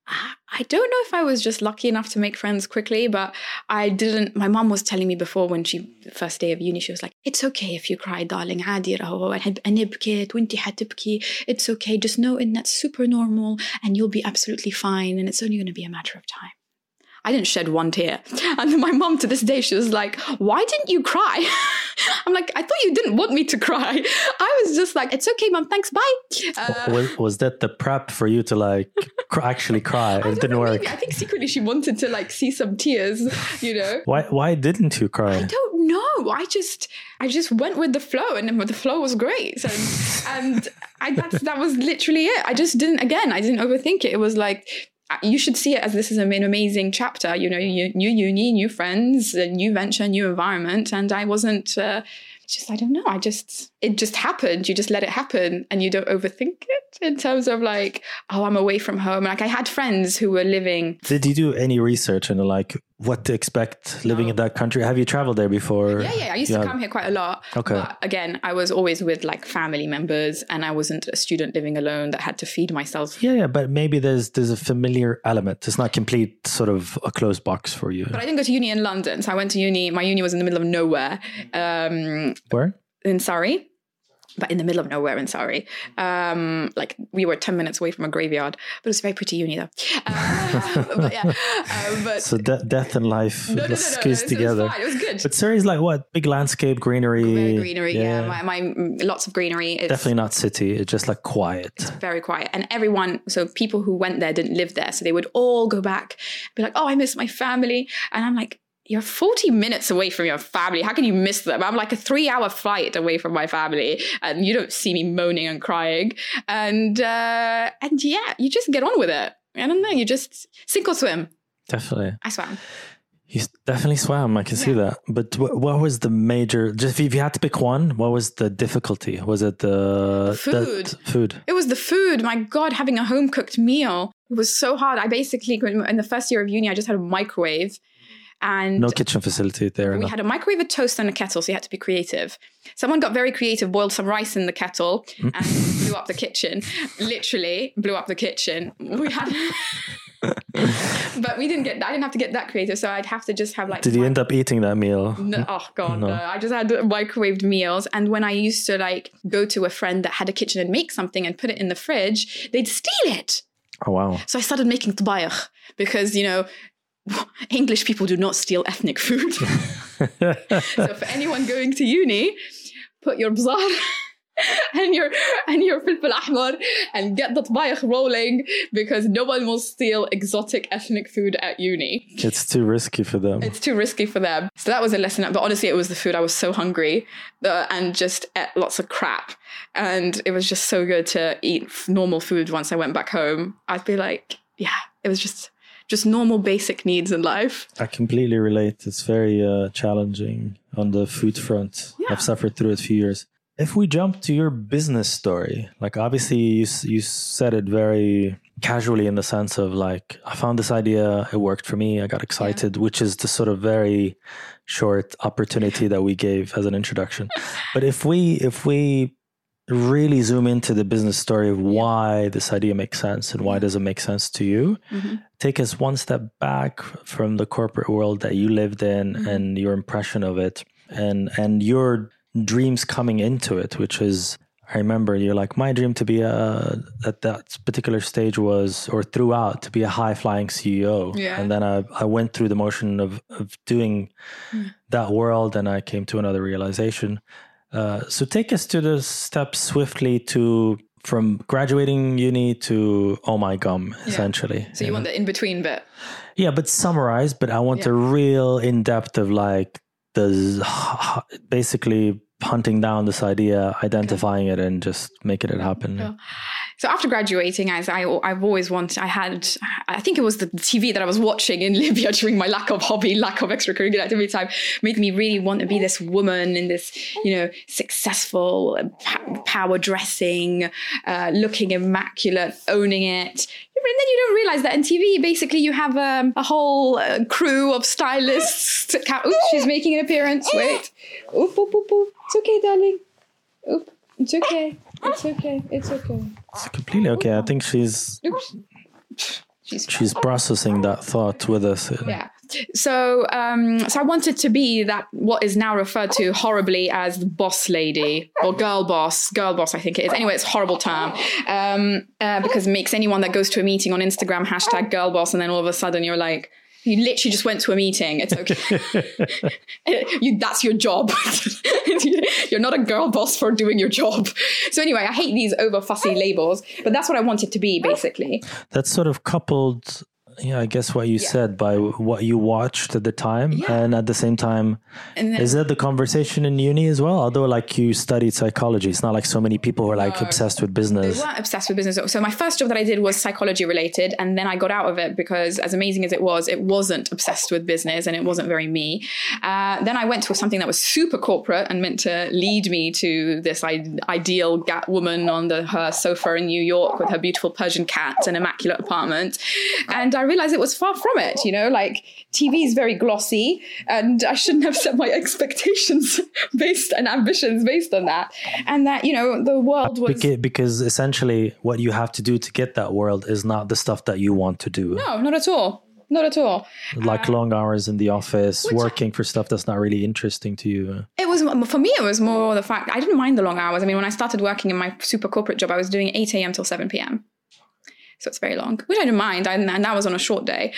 I don't know if I was just lucky enough to make friends quickly, but my mom was telling me before, when first day of uni, she was like, it's okay if you cry, darling, عادي راهو أنا بكيت وانتي حتبكي. It's okay, just know that's super normal and you'll be absolutely fine and it's only going to be a matter of time. I didn't shed one tear. And my mom, to this day, she was like, why didn't you cry? I'm like, I thought you didn't want me to cry. I was just like, it's okay, mom, thanks, bye. Was that the prep for you to like actually cry? It didn't work. Maybe. I think secretly she wanted to like see some tears, you know. Why didn't you cry? I don't know. I just went with the flow, and the flow was great. And that was literally it. I didn't overthink it. It was like, you should see it as this is an amazing chapter, you know, new uni, new friends, a new venture, new environment. And I wasn't I don't know. It just happened. You just let it happen and you don't overthink it in terms of like, oh, I'm away from home. Like, I had friends who were living. Did you do any research into like what to expect living in that country? Have you traveled there before? Yeah. I used to come here quite a lot. Okay. But again, I was always with like family members, and I wasn't a student living alone that had to feed myself. Yeah. But maybe there's a familiar element. It's not complete sort of a closed box for you. But I didn't go to uni in London. So I went to uni. My uni was in the middle of nowhere. Where? In Surrey. but in the middle of nowhere in Surrey. Like we were 10 minutes away from a graveyard, but it was a very pretty uni though. But yeah, so death and life squeezed together. It was fine. It was good. But Surrey's like what? Big landscape, greenery. Very greenery, yeah. My lots of greenery. It's definitely not city. It's just like quiet. It's very quiet. And everyone, so people who went there didn't live there. So they would all go back, be like, oh, I miss my family. And I'm like, you're 40 minutes away from your family. How can you miss them? I'm like a 3-hour flight away from my family, and you don't see me moaning and crying. And yeah, you just get on with it. I don't know. You just sink or swim. Definitely. I swam. You definitely swam. I can see that. But what was the major? Just if you had to pick one, what was the difficulty? Was it the food? Food. It was the food. My God, having a home cooked meal. It was so hard. I basically, in the first year of uni, I just had a microwave. And no kitchen facility there. We had a microwave, a toaster, and a kettle, so you had to be creative. Someone got very creative, boiled some rice in the kettle and blew up the kitchen. Literally blew up the kitchen. We had, but I didn't have to get that creative, so I'd have to just have like. Did you end up eating that meal? No, oh God, no. I just had microwaved meals, and when I used to like go to a friend that had a kitchen and make something and put it in the fridge, they'd steal it. Oh wow! So I started making tabayakh because English people do not steal ethnic food. So for anyone going to uni, put your bzar and your filfil ahmar and get the tabayakh rolling, because no one will steal exotic ethnic food at uni. It's too risky for them. So that was a lesson. But honestly, it was the food. I was so hungry and just ate lots of crap. And it was just so good to eat normal food once I went back home. I'd be like, yeah, it was just normal basic needs in life. I completely relate. It's very challenging on the food front. Yeah. I've suffered through it a few years. If we jump to your business story, like obviously you said it very casually in the sense of like, I found this idea, it worked for me, I got excited, which is the sort of very short opportunity that we gave as an introduction. But if we really zoom into the business story of why this idea makes sense and why does it make sense to you, take us one step back from the corporate world that you lived in and your impression of it and your dreams coming into it, which is, I remember you're like, my dream to be at that particular stage was, or throughout, to be a high flying CEO. Yeah. And then I went through the motion of doing that world, and I came to another realization. So take us to the steps swiftly from graduating uni to oh my gum, essentially. So you want the in-between bit? Yeah, but summarize, but I want a real in-depth of like basically hunting down this idea, identifying it and just making it happen. Yeah. So after graduating, as I've always wanted, I think it was the TV that I was watching in Libya during my lack of hobby, lack of extracurricular activity time, made me really want to be this woman in this, successful, power dressing, looking immaculate, owning it. And then you don't realize that in TV, basically you have a whole crew of stylists. Oops, she's making an appearance. Wait. Oop, oop, oop, oop. It's okay, darling. Oop, it's okay. It's okay. It's okay. It's completely okay. I think she's processing that thought with us. Yeah. So I wanted to be that what is now referred to horribly as the boss lady or girl boss, I think it is. Anyway, it's a horrible term because it makes anyone that goes to a meeting on Instagram hashtag girl boss, and then all of a sudden you're like, you literally just went to a meeting. It's okay. That's your job. You're not a girl boss for doing your job. So anyway, I hate these over fussy labels, but that's what I wanted to be, basically. That's sort of coupled, I guess what you said by what you watched at the time. Yeah. And at the same time, is that the conversation in uni as well? Although like you studied psychology, it's not like so many people were like obsessed with business. They weren't obsessed with business. So my first job that I did was psychology related. And then I got out of it because as amazing as it wasn't obsessed with business and it wasn't very me. Then I went to something that was super corporate and meant to lead me to this ideal woman on her sofa in New York with her beautiful Persian cat and immaculate apartment. And I realized it was far from it, like TV is very glossy and I shouldn't have set my expectations and ambitions based on that. And that, the world was... Because essentially what you have to do to get that world is not the stuff that you want to do. No, not at all. not at all. Like long hours in the office, working for stuff that's not really interesting to you. It was, for me, it was more the fact I didn't mind the long hours. I mean, when I started working in my super corporate job, I was doing 8 a.m. till 7 p.m. So it's very long, which I didn't mind. And that was on a short day.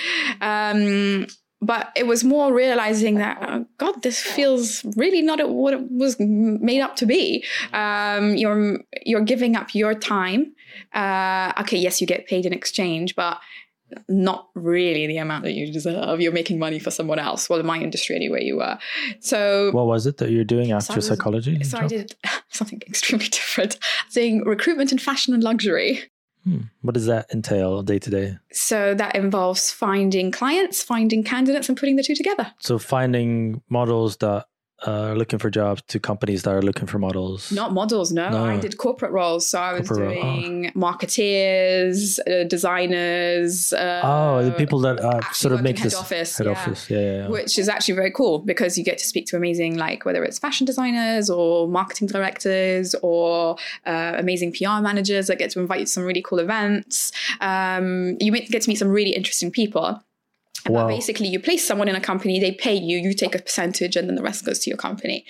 But it was more realizing that, oh God, this feels really not what it was made up to be. You're giving up your time. Okay, yes, you get paid in exchange, but not really the amount that you deserve. You're making money for someone else. Well, in my industry anyway, you were. So what was it that you're doing after psychology? So I did something extremely different. Doing recruitment in fashion and luxury. What does that entail day to day? So that involves finding clients, finding candidates, and putting the two together. So finding models that are looking for jobs to companies that are looking for models. Not models, no. I did corporate roles. So I was doing marketeers, designers. The people that sort of make head this office. Head office, yeah. Which is actually very cool because you get to speak to amazing, like whether it's fashion designers or marketing directors or amazing PR managers that get to invite you to some really cool events. You get to meet some really interesting people. But basically, you place someone in a company, they pay you, you take a percentage, and then the rest goes to your company.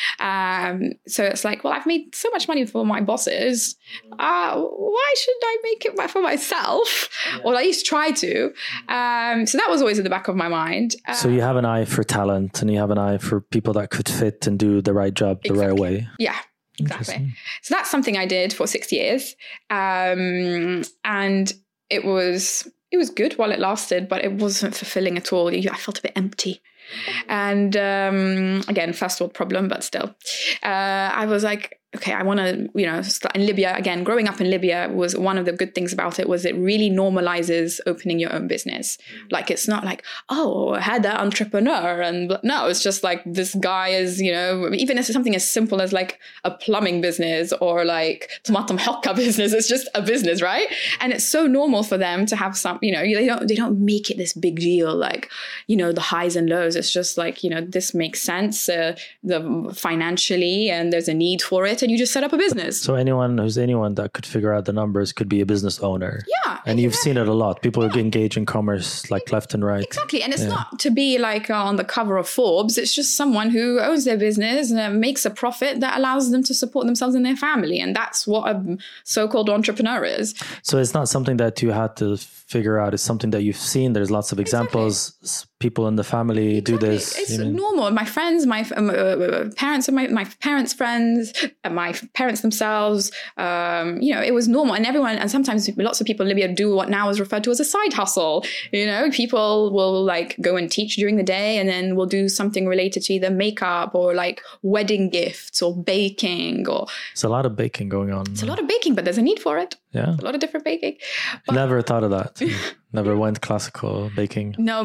So it's like, well, I've made so much money for my bosses. Why shouldn't I make it for myself? Or at least try to. So that was always in the back of my mind. So you have an eye for talent and you have an eye for people that could fit and do the right job the right way. Yeah. Exactly. So that's something I did for 6 years. And it was good while it lasted, but it wasn't fulfilling at all. I felt a bit empty. And again, first world problem, but still. I was like, okay, I want to, start in Libya. Again, growing up in Libya was one of the good things about it was it really normalizes opening your own business. Like, it's not like, oh, I had that entrepreneur. And no, it's just like this guy is, even if it's something as simple as like a plumbing business or like tomato hokka business, it's just a business, right? And it's so normal for them to have some, they don't make it this big deal, like, the highs and lows. It's just like, this makes sense the financially and there's a need for it. And you just set up a business. So anyone that could figure out the numbers could be a business owner. Yeah. And you've seen it a lot. People engage in commerce like left and right. Exactly. And it's not to be like on the cover of Forbes. It's just someone who owns their business and makes a profit that allows them to support themselves and their family. And that's what a so-called entrepreneur is. So it's not something that you had to figure out. It's something that you've seen. There's lots of examples. Exactly. People in the family do this. It's normal. My friends, my parents, and my parents' friends, and my parents themselves. It was normal, and sometimes lots of people in Libya do what now is referred to as a side hustle. People will like go and teach during the day, and then will do something related to either makeup or like wedding gifts or baking. Or it's a lot of baking going on. It's a lot of baking, but there's a need for it. Yeah, a lot of different baking. But never thought of that. Never went classical baking. No.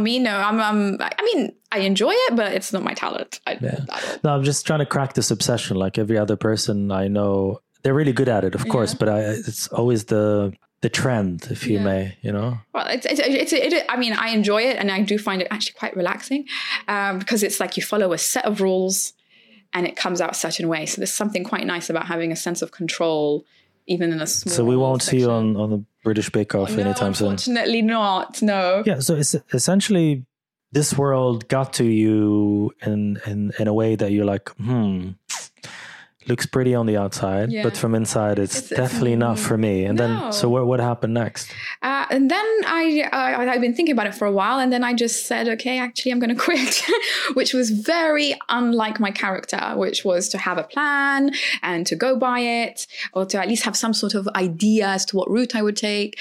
I enjoy it, but it's not my talent. No, I'm just trying to crack this obsession. Like every other person I know, they're really good at it, of course, but it's always the trend, if you may, Well, I enjoy it, and I do find it actually quite relaxing because it's like you follow a set of rules and it comes out a certain way. So there's something quite nice about having a sense of control, even in a small So we won't section. see you on the British Bake Off anytime soon? Unfortunately not, no. Yeah, so it's essentially this world got to you in a way that you're like, looks pretty on the outside, but from inside it's definitely not for me. And then, so what happened next? And then I've been thinking about it for a while, and then I just said, okay, actually I'm going to quit, which was very unlike my character, which was to have a plan and to go by it, or to at least have some sort of idea as to what route I would take,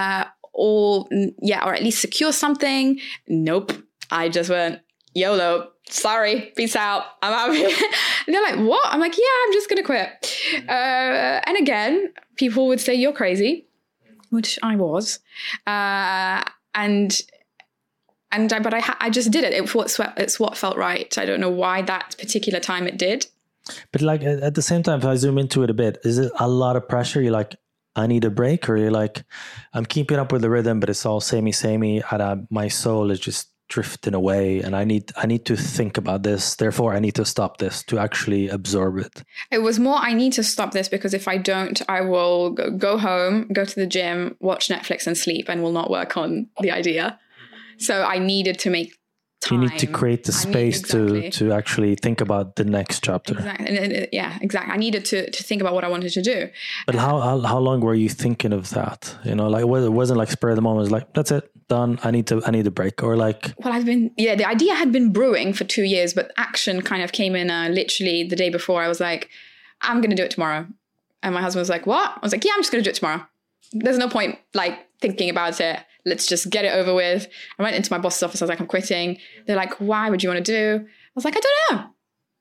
or at least secure something. Nope. I just went, YOLO. Sorry, peace out. I'm out of here. And they're like, what? I'm like, yeah, I'm just going to quit. And again, people would say, you're crazy, which I was. But I just did it. It's what felt right. I don't know why that particular time it did. But like at the same time, if I zoom into it a bit, is it a lot of pressure? You're like, I need a break? Or you're like, I'm keeping up with the rhythm, but it's all samey, and my soul is just drifting away, and I need to think about this, therefore I need to stop this to actually absorb it? It was more, I need to stop this because if I don't, I will go home, go to the gym, watch Netflix and sleep, and will not work on the idea. So I needed to make time. You need to create the space to actually think about the next chapter. Exactly. Yeah, exactly. I needed to think about what I wanted to do. But how long were you thinking of that? You know, like it wasn't like spur of the moment. It was like, that's it, done. I need a break, or like. Well, the idea had been brewing for 2 years, but action kind of came in literally the day before. I was like, I'm going to do it tomorrow. And my husband was like, what? I was like, yeah, I'm just going to do it tomorrow. There's no point like thinking about it. Let's just get it over with. I went into my boss's office. I was like, I'm quitting. They're like, why would you want to do? I was like, I don't know.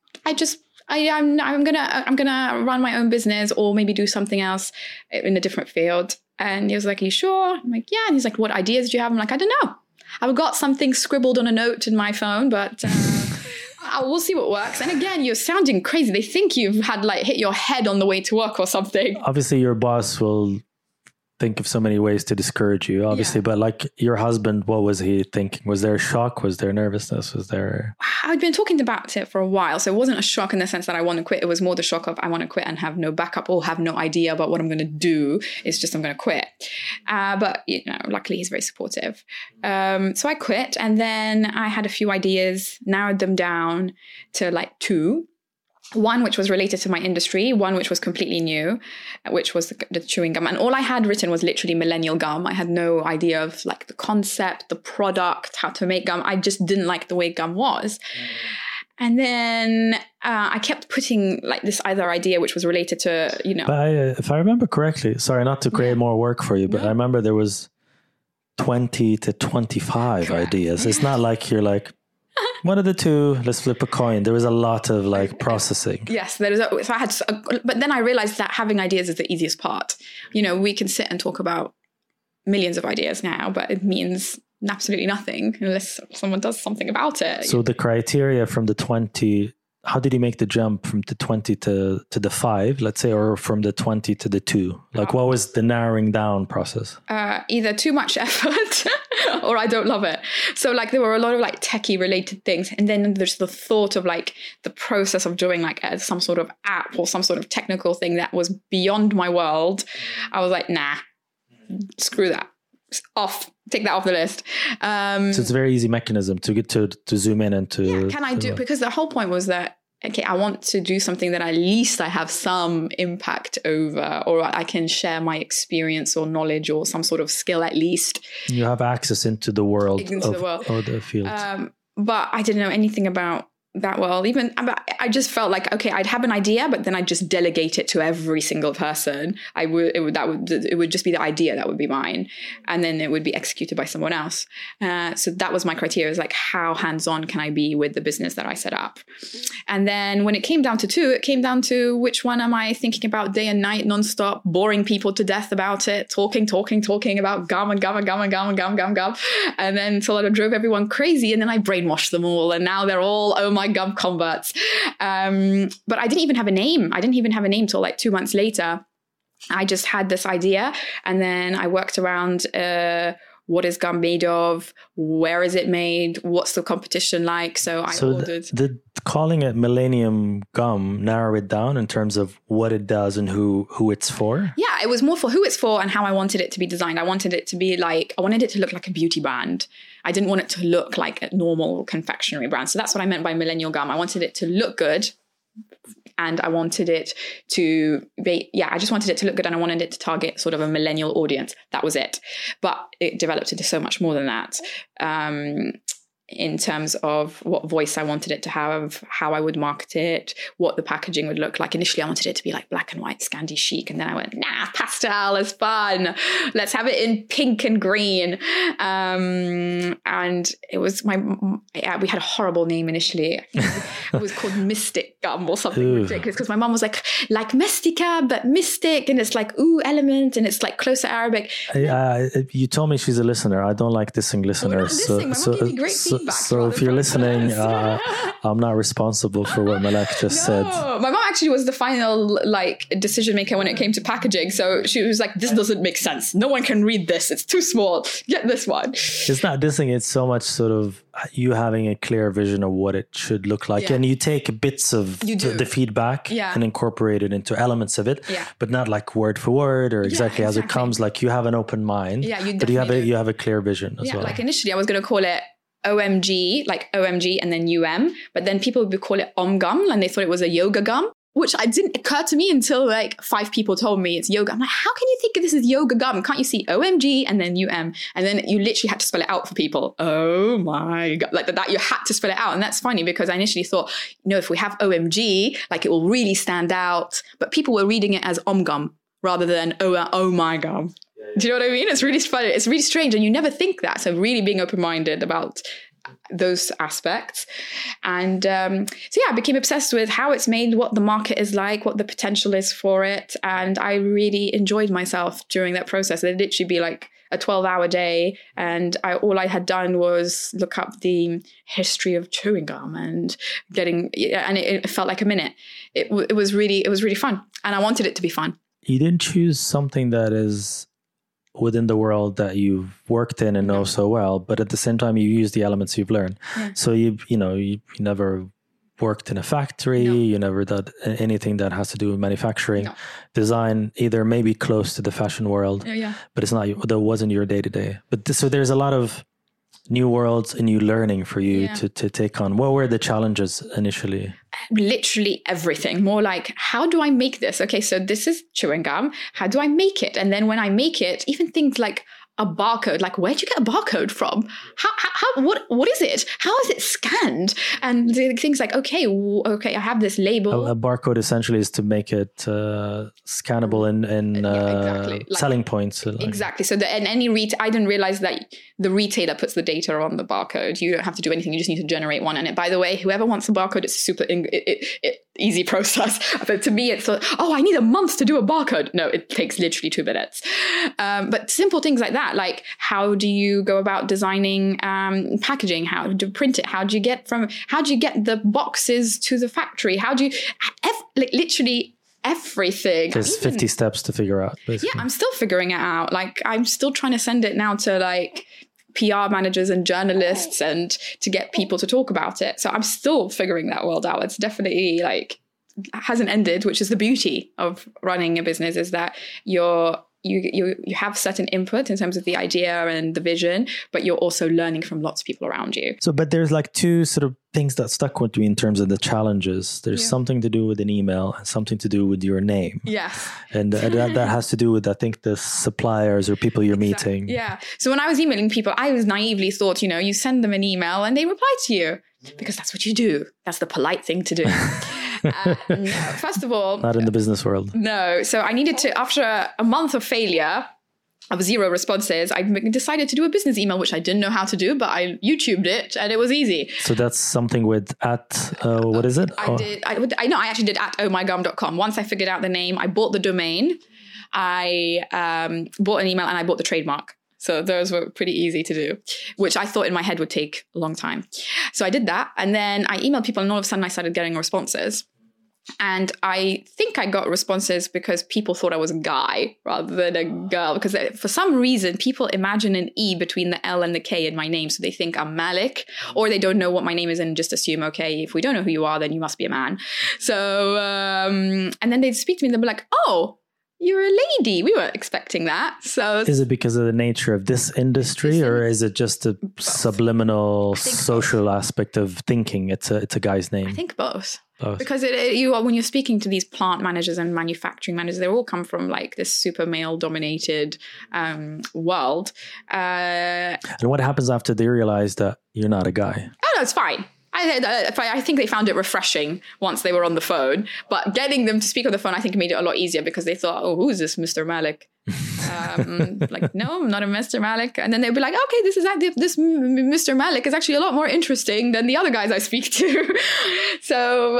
I'm gonna run my own business or maybe do something else in a different field. And he was like, are you sure? I'm like, yeah. And he's like, what ideas do you have? I'm like, I don't know. I've got something scribbled on a note in my phone, but we'll see what works. And again, you're sounding crazy. They think you've had like hit your head on the way to work or something. Obviously, your boss will think of so many ways to discourage you, obviously, but like your husband, what was he thinking? Was there a shock? Was there nervousness? Was there... I'd been talking about it for a while, so it wasn't a shock in the sense that I want to quit. It was more the shock of I want to quit and have no backup or have no idea about what I'm going to do. It's just I'm going to quit. But you know, luckily he's very supportive. So I quit, and then I had a few ideas, narrowed them down to like 2. One which was related to my industry, one which was completely new, which was the chewing gum. And all I had written was literally millennial gum. I had no idea of like the concept, the product, how to make gum. I just didn't like the way gum was. And then I kept putting like this other idea which was related to, you know. But if I remember correctly, sorry, not to create more work for you, but I remember there was 20 to 25 ideas. It's not like you're like, one of the 2, let's flip a coin. There was a lot of like processing. Yes, so I had, but then I realized that having ideas is the easiest part. You know, we can sit and talk about millions of ideas now, but it means absolutely nothing unless someone does something about it. So the criteria from the 20, how did you make the jump from the 20 to the 5, let's say, or from the 20 to the 2? Like what was the narrowing down process? Either too much effort or I don't love it. So like there were a lot of like techie related things. And then there's the thought of like the process of doing like some sort of app or some sort of technical thing that was beyond my world. I was like, nah, screw that. Off, take that off the list. So it's a very easy mechanism to get to zoom in and to... Yeah, can I do... Because the whole point was that, okay, I want to do something that at least I have some impact over, or I can share my experience or knowledge or some sort of skill at least. You have access into the world or the field. But I didn't know anything about that world. Even I just felt like, okay, I'd have an idea, but then I'd just delegate it to every single person. It would just be the idea that would be mine, and then it would be executed by someone else. So that was my criteria: is like how hands-on can I be with the business that I set up. And then when it came down to 2, it came down to which one am I thinking about day and night, nonstop, boring people to death about it, talking about gum and gum and gum and gum and gum, gum, gum, and then until I drove everyone crazy, and then I brainwashed them all, and now they're all my gum converts. But I didn't even have a name. I didn't even have a name till like 2 months later. I just had this idea, and then I worked around what is gum made of? Where is it made? What's the competition like? So I ordered... calling it Millennium Gum narrow it down in terms of what it does and who it's for? Yeah, it was more for who it's for and how I wanted it to be designed. I wanted it to look like a beauty brand. I didn't want it to look like a normal confectionery brand. So that's what I meant by Millennial Gum. I wanted it to look good. And I wanted it to be, I just wanted it to look good, and I wanted it to target sort of a millennial audience. That was it. But it developed into so much more than that. In terms of what voice I wanted it to have, how I would market it, what the packaging would look like. Initially, I wanted it to be like black and white, Scandi chic. And then I went, pastel is fun. Let's have it in pink and green. And it was we had a horrible name initially. It was called Mystic Gum or something ridiculous, because my mom was like Mystica, but mystic. And it's like, element. And it's like closer Arabic. You told me she's a listener. I don't like dissing listeners. We're not dissing. My mom gave me great feedback. feedback. So if you're listening, I'm not responsible for what Malak just said. My mom actually was the final decision maker when it came to packaging. So she was like, this doesn't make sense. No one can read this. It's too small. Get this one. It's not dissing. It's so much sort of you having a clear vision of what it should look like. Yeah. And you take bits of the feedback and incorporate it into elements of it, but not like word for word or exactly as it comes. Like you have an open mind, but you have a clear vision as well. Like initially I was going to call it OMG, like OMG and then but then people would call it OMGum and they thought it was a yoga gum, which didn't occur to me until like 5 people told me it's yoga. I'm like, how can you think this is yoga gum? Can't you see OMG and then UM? And then you literally had to spell it out for people. Oh my God. Like that, you had to spell it out. And that's funny because I initially thought, if we have OMG, like it will really stand out. But people were reading it as OMGum rather than oh my gum. Do you know what I mean? It's really funny. It's really strange. And you never think that. So really being open-minded about those aspects. And I became obsessed with how it's made, what the market is like, what the potential is for it. And I really enjoyed myself during that process. It'd literally be like a 12-hour day. And all I had done was look up the history of chewing gum and it felt like a minute. It was really fun. And I wanted it to be fun. You didn't choose something that is within the world that you've worked in and know so well, but at the same time you use the elements you've learned. So you never worked in a factory, you never did anything that has to do with manufacturing, design, either maybe close to the fashion world, but it's not, that wasn't your day-to-day. But so there's a lot of new worlds and new learning for you to take on. What were the challenges initially? Literally everything. More like, how do I make this? Okay, so this is chewing gum. How do I make it? And then when I make it, even things like a barcode, like where'd you get a barcode from? What is it? How is it scanned? And things like, okay, I have this label. A barcode essentially is to make it scannable and exactly. Selling points. Exactly. So I didn't realize that the retailer puts the data on the barcode. You don't have to do anything. You just need to generate one. And by the way, whoever wants a barcode, it's a super easy process. But to me, it's I need a month to do a barcode. No, it takes literally 2 minutes. But simple things like that, like how do you go about designing packaging? How do you print it? How do you get the boxes to the factory? How do you literally everything? There's 50 steps to figure out, basically. Yeah, I'm still figuring it out. Like I'm still trying to send it now to like PR managers and journalists and to get people to talk about it. So I'm still figuring that world out. It's definitely hasn't ended, which is the beauty of running a business, is that you have certain input in terms of the idea and the vision, but you're also learning from lots of people around you. So, but there's like 2 sort of things that stuck with me in terms of the challenges. There's something to do with an email and something to do with your name. Yes. And that has to do with, I think, the suppliers or people you're meeting. Yeah. So when I was emailing people, I was naively thought, you send them an email and they reply to you because that's what you do. That's the polite thing to do. No, first of all, not in the business world. No. So I needed to, after a month of failure of 0 responses, I decided to do a business email, which I didn't know how to do, but I YouTubed it and it was easy. So that's something with what is it? I actually did at ohmygum.com. Once I figured out the name, I bought the domain, I bought an email and I bought the trademark. So those were pretty easy to do, which I thought in my head would take a long time. So I did that. And then I emailed people and all of a sudden I started getting responses. And I think I got responses because people thought I was a guy rather than a girl. Because for some reason, people imagine an E between the L and the K in my name. So they think I'm Malik, or they don't know what my name is and just assume, okay, if we don't know who you are, then you must be a man. So, and then they'd speak to me and they'd be like, oh, you're a lady. We weren't expecting that. So is it because of the nature of this industry, or is it just a subliminal social aspect of thinking it's a guy's name? I think both. Because when you're speaking to these plant managers and manufacturing managers, they all come from like this super male dominated world. And what happens after they realize that you're not a guy? Oh, no, it's fine. I think they found it refreshing once they were on the phone, but getting them to speak on the phone, I think made it a lot easier because they thought, oh, who's this Mr. Malik? Like, no, I'm not a Mr. Malik. And then they'd be like, okay, this Mr. Malik is actually a lot more interesting than the other guys I speak to. So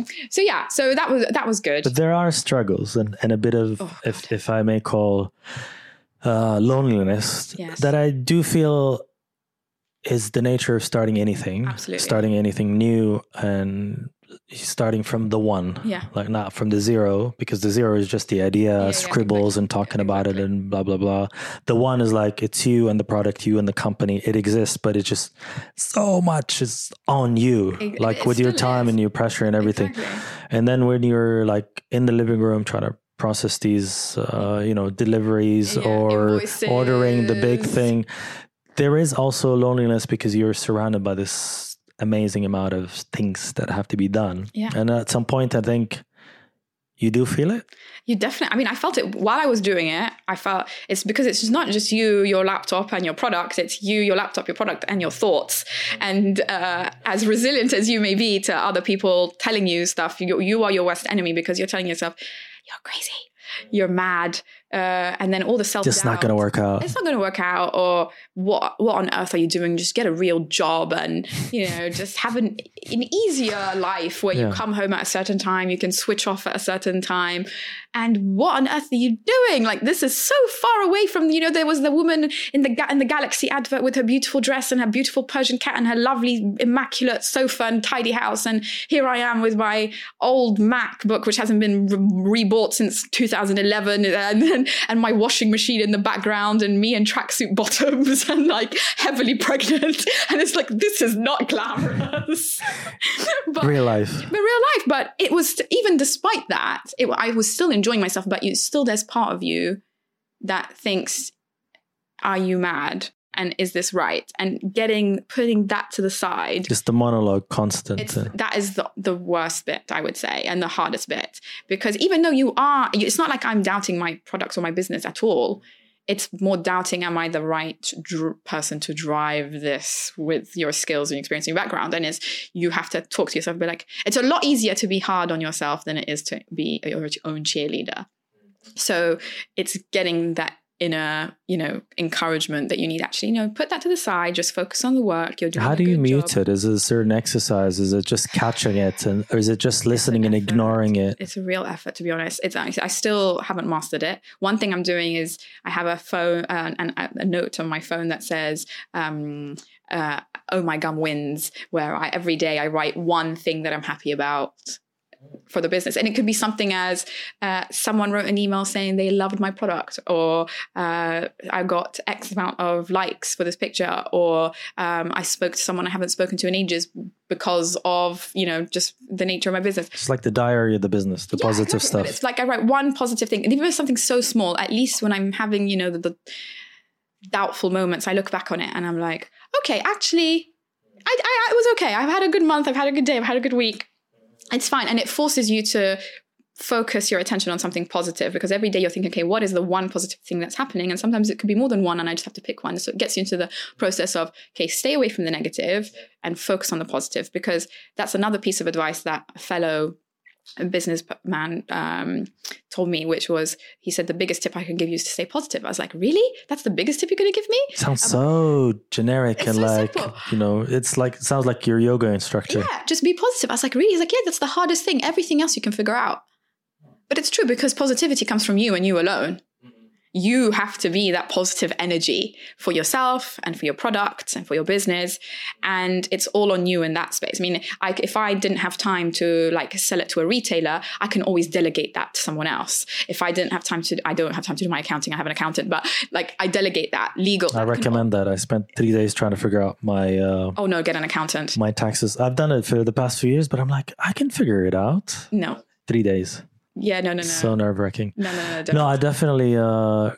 that was good. But there are struggles and a bit of, if I may call, loneliness that I do feel is the nature of starting anything. Absolutely. Starting anything new and starting from the one. Yeah. Like not from the zero, because the zero is just the idea, scribbles and talking about it and blah, blah, blah. The one is like, it's you and the product, you and the company. It exists, but it's just so much is on you, like with your time and your pressure and everything. Exactly. And then when you're like in the living room trying to process these, deliveries or invoices. Ordering the big thing, there is also loneliness because you're surrounded by this amazing amount of things that have to be done. Yeah. And at some point, I think you do feel it. You definitely, I mean, I felt it while I was doing it. I felt it's because it's just not just you, your laptop and your product. It's you, your laptop, your product and your thoughts. And as resilient as you may be to other people telling you stuff, you are your worst enemy because you're telling yourself, you're crazy, you're mad. And then all the self-doubt. Just not going to work out. It's not going to work out. Or what on earth are you doing? Just get a real job and, just have an easier life where you come home at a certain time. You can switch off at a certain time. And what on earth are you doing? Like, this is so far away from, there was the woman in the Galaxy advert with her beautiful dress and her beautiful Persian cat and her lovely, immaculate sofa and tidy house. And here I am with my old MacBook, which hasn't been rebought since 2011. And my washing machine in the background and me in tracksuit bottoms and like heavily pregnant. And it's like, this is not glamorous. But real life. But it was, even despite that, I was still enjoying myself, but there's part of you that thinks, are you mad? And is this right? And putting that to the side. Just the monologue constant. That is the worst bit, I would say, and the hardest bit. Because even though it's not like I'm doubting my products or my business at all. It's more doubting, am I the right person to drive this with your skills and experience and your background? And you have to talk to yourself and be like, it's a lot easier to be hard on yourself than it is to be your own cheerleader. So it's getting that inner, encouragement that you need. Actually, put that to the side, just focus on the work you're doing. How do you mute it? Is it a certain exercise? Is it just catching it, or is it just listening and ignoring it? It's a real effort, to be honest. I still haven't mastered it. One thing I'm doing is I have a phone and a note on my phone that says, "Oh my gum wins," where every day I write one thing that I'm happy about for the business. And it could be something as someone wrote an email saying they loved my product, or I got X amount of likes for this picture, or I spoke to someone I haven't spoken to in ages because of, just the nature of my business. It's like the diary of the business, the positive stuff. It's like I write one positive thing. And even if it's something so small, at least when I'm having, the doubtful moments, I look back on it and I'm like, okay, actually, I was okay. I've had a good month. I've had a good day. I've had a good week. It's fine. And it forces you to focus your attention on something positive, because every day you're thinking, okay, what is the one positive thing that's happening? And sometimes it could be more than one and I just have to pick one. So it gets you into the process of, okay, stay away from the negative and focus on the positive, because that's another piece of advice that a fellow businessman told me, which was, he said, the biggest tip I can give you is to stay positive. I was like, really? That's the biggest tip you're going to give me? Sounds so generic and so simple. It sounds like your yoga instructor. Yeah, just be positive. I was like, really? He's like, yeah, that's the hardest thing. Everything else you can figure out. But it's true, because positivity comes from you and you alone. You have to be that positive energy for yourself and for your product and for your business. And it's all on you in that space. I mean, if I didn't have time to sell it to a retailer, I can always delegate that to someone else. If I don't have time to do my accounting, I have an accountant, but I delegate that legal. I recommend that. I spent 3 days trying to figure out my... get an accountant. My taxes. I've done it for the past few years, but I'm like, I can figure it out. No. 3 days. Yeah, no. So nerve-wracking. No. No, I definitely, I'm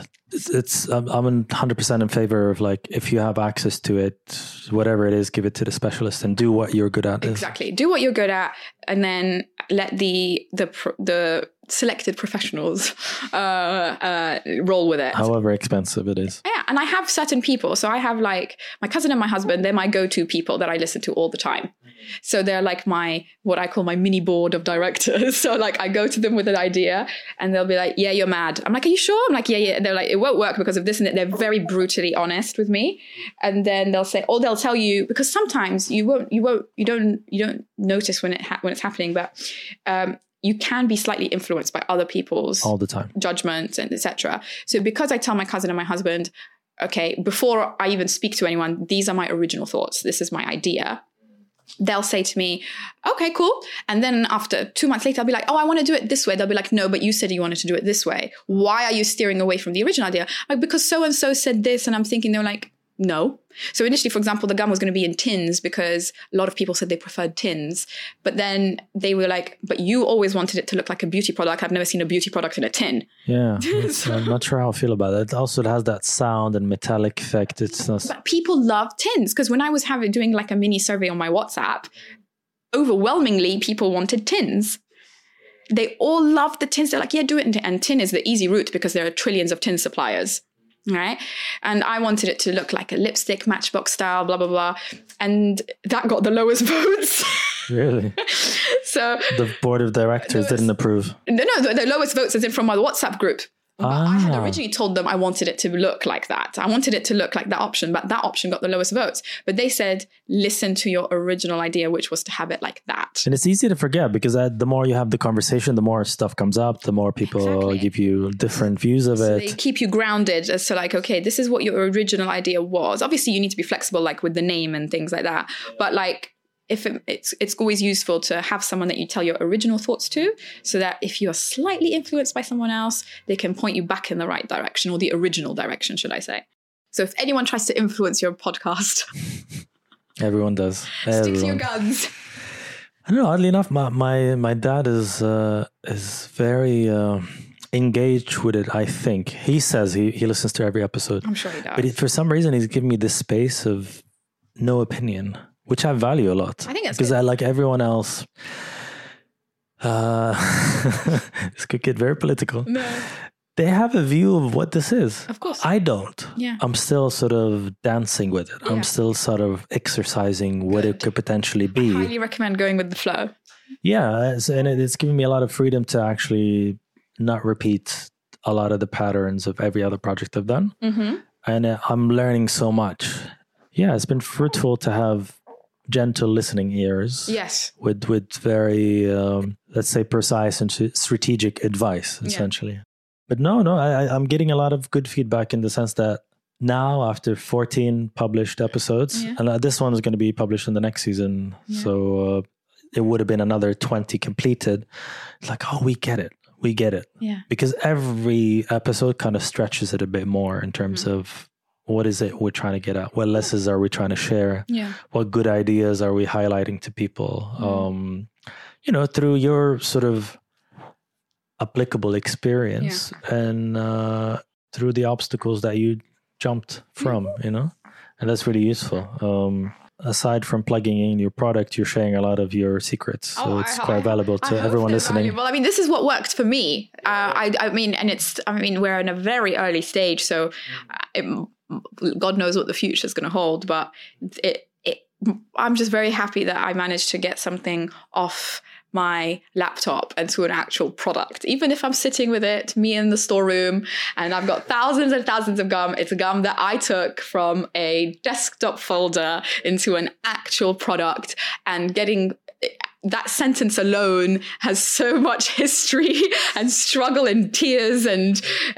100% in favor of if you have access to it, whatever it is, give it to the specialist and do what you're good at. Exactly. Do what you're good at, and then let the selected professionals roll with it. However expensive it is. Yeah, and I have certain people. So I have my cousin and my husband, they're my go-to people that I listen to all the time. So they're what I call my mini board of directors. So I go to them with an idea and they'll be like, yeah, you're mad. I'm like, are you sure? I'm like, yeah. And they're like, it won't work because of this and that. They're very brutally honest with me. And then they'll say, or they'll tell you, because sometimes you don't notice when it's happening, but you can be slightly influenced by other people's all the time judgments and etc. So because I tell my cousin and my husband, okay, before I even speak to anyone, these are my original thoughts. This is my idea. They'll say to me, okay, cool. And then after 2 months later, I'll be like, oh, I want to do it this way. They'll be like, no, but you said you wanted to do it this way. Why are you steering away from the original idea? Like, because so-and-so said this. And I'm thinking, they're like, no. So initially, for example, the gum was going to be in tins because a lot of people said they preferred tins. But then they were like, but you always wanted it to look like a beauty product. I've never seen a beauty product in a tin. Yeah. I'm not sure how I feel about it. It also has that sound and metallic effect. It's not... But people love tins, because when I was doing like a mini survey on my WhatsApp, overwhelmingly people wanted tins. They all loved the tins. They're like, yeah, do it. And tin is the easy route because there are trillions of tin suppliers. Right. And I wanted it to look like a lipstick, Matchbox style, blah, blah, blah. And that got the lowest votes. Really? So the board of directors didn't approve. No, the lowest votes is in from my WhatsApp group. But I had originally told them I wanted it to look like that. I wanted it to look like that option, but that option got the lowest votes. But they said, listen to your original idea, which was to have it like that. And it's easy to forget because the more you have the conversation, the more stuff comes up, the more people give you different views of it. They keep you grounded as to like, okay, this is what your original idea was. Obviously, you need to be flexible, like with the name and things like that. But like, if it's always useful to have someone that you tell your original thoughts to, so that if you are slightly influenced by someone else, they can point you back in the right direction, or the original direction, should I say. So if anyone tries to influence your podcast... Everyone does. Stick to your guns. I don't know, oddly enough, my dad is very engaged with it, I think. He says he listens to every episode. I'm sure he does. But for some reason, he's giving me this space of no opinion, which I value a lot. I think that's because good. I like everyone else. This could get very political. No. They have a view of what this is. Of course. I don't. Yeah. I'm still sort of dancing with it. Yeah. I'm still sort of exercising what it could potentially be. I highly recommend going with the flow. Yeah. And it's giving me a lot of freedom to actually not repeat a lot of the patterns of every other project I've done. Mm-hmm. And I'm learning so much. Yeah, it's been fruitful to have gentle listening ears. Yes. With very, let's say, precise and strategic advice, essentially. Yeah. But no, I'm getting a lot of good feedback in the sense that now, after 14 published episodes, and this one is going to be published in the next season. Yeah. So it would have been another 20 completed. It's like, oh, we get it. We get it. Yeah. Because every episode kind of stretches it a bit more in terms of what is it we're trying to get at? What lessons are we trying to share? Yeah. What good ideas are we highlighting to people? Through your sort of applicable experience and through the obstacles that you jumped from, and that's really useful. Aside from plugging in your product, you're sharing a lot of your secrets. So it's quite valuable to everyone listening. Well, I mean, this is what worked for me. I mean, we're in a very early stage, so God knows what the future is going to hold. But I'm just very happy that I managed to get something off my laptop and to an actual product. Even if I'm sitting with it, me in the storeroom, and I've got thousands and thousands of gum, it's a gum that I took from a desktop folder into an actual product, and getting that sentence alone has so much history and struggle and tears and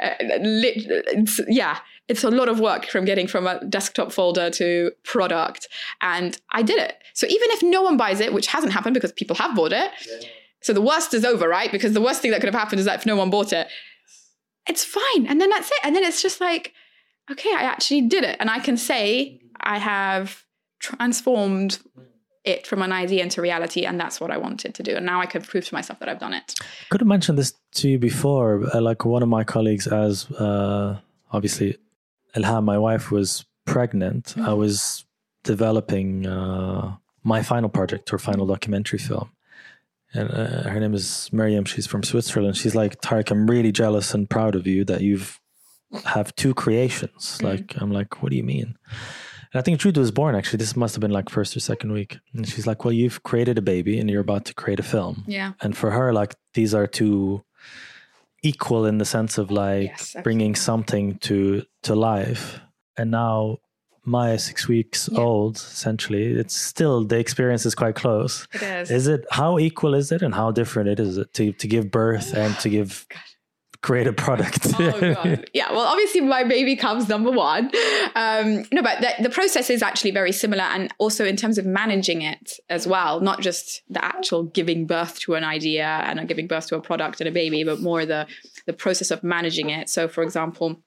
it's a lot of work from getting from a desktop folder to product. And I did it. So even if no one buys it, which hasn't happened because people have bought it. Yeah. So the worst is over, right? Because the worst thing that could have happened is that if no one bought it, it's fine. And then that's it. And then it's just like, okay, I actually did it. And I can say I have transformed it from an idea into reality. And that's what I wanted to do. And now I can prove to myself that I've done it. Could have mentioned this to you before. Like one of my colleagues, as obviously Ilham, my wife, was pregnant. I was developing my final project, her final documentary film. And her name is Miriam. She's from Switzerland. She's like, Tarek, I'm really jealous and proud of you that you've have two creations. Like, I'm like, what do you mean? And I think Trude was born, actually. This must have been like first or second week. And she's like, well, you've created a baby and you're about to create a film. Yeah. And for her, like, these are two equal in the sense of like bringing something to life. And now Maya, 6 weeks old, essentially, it's still, the experience is quite close. It is. Is it, how equal is it and how different it is to give birth and to give create a product. Oh God. Yeah. Well, obviously my baby comes number one. No, but the process is actually very similar. And also in terms of managing it as well, not just the actual giving birth to an idea and giving birth to a product and a baby, but more the process of managing it. So for example,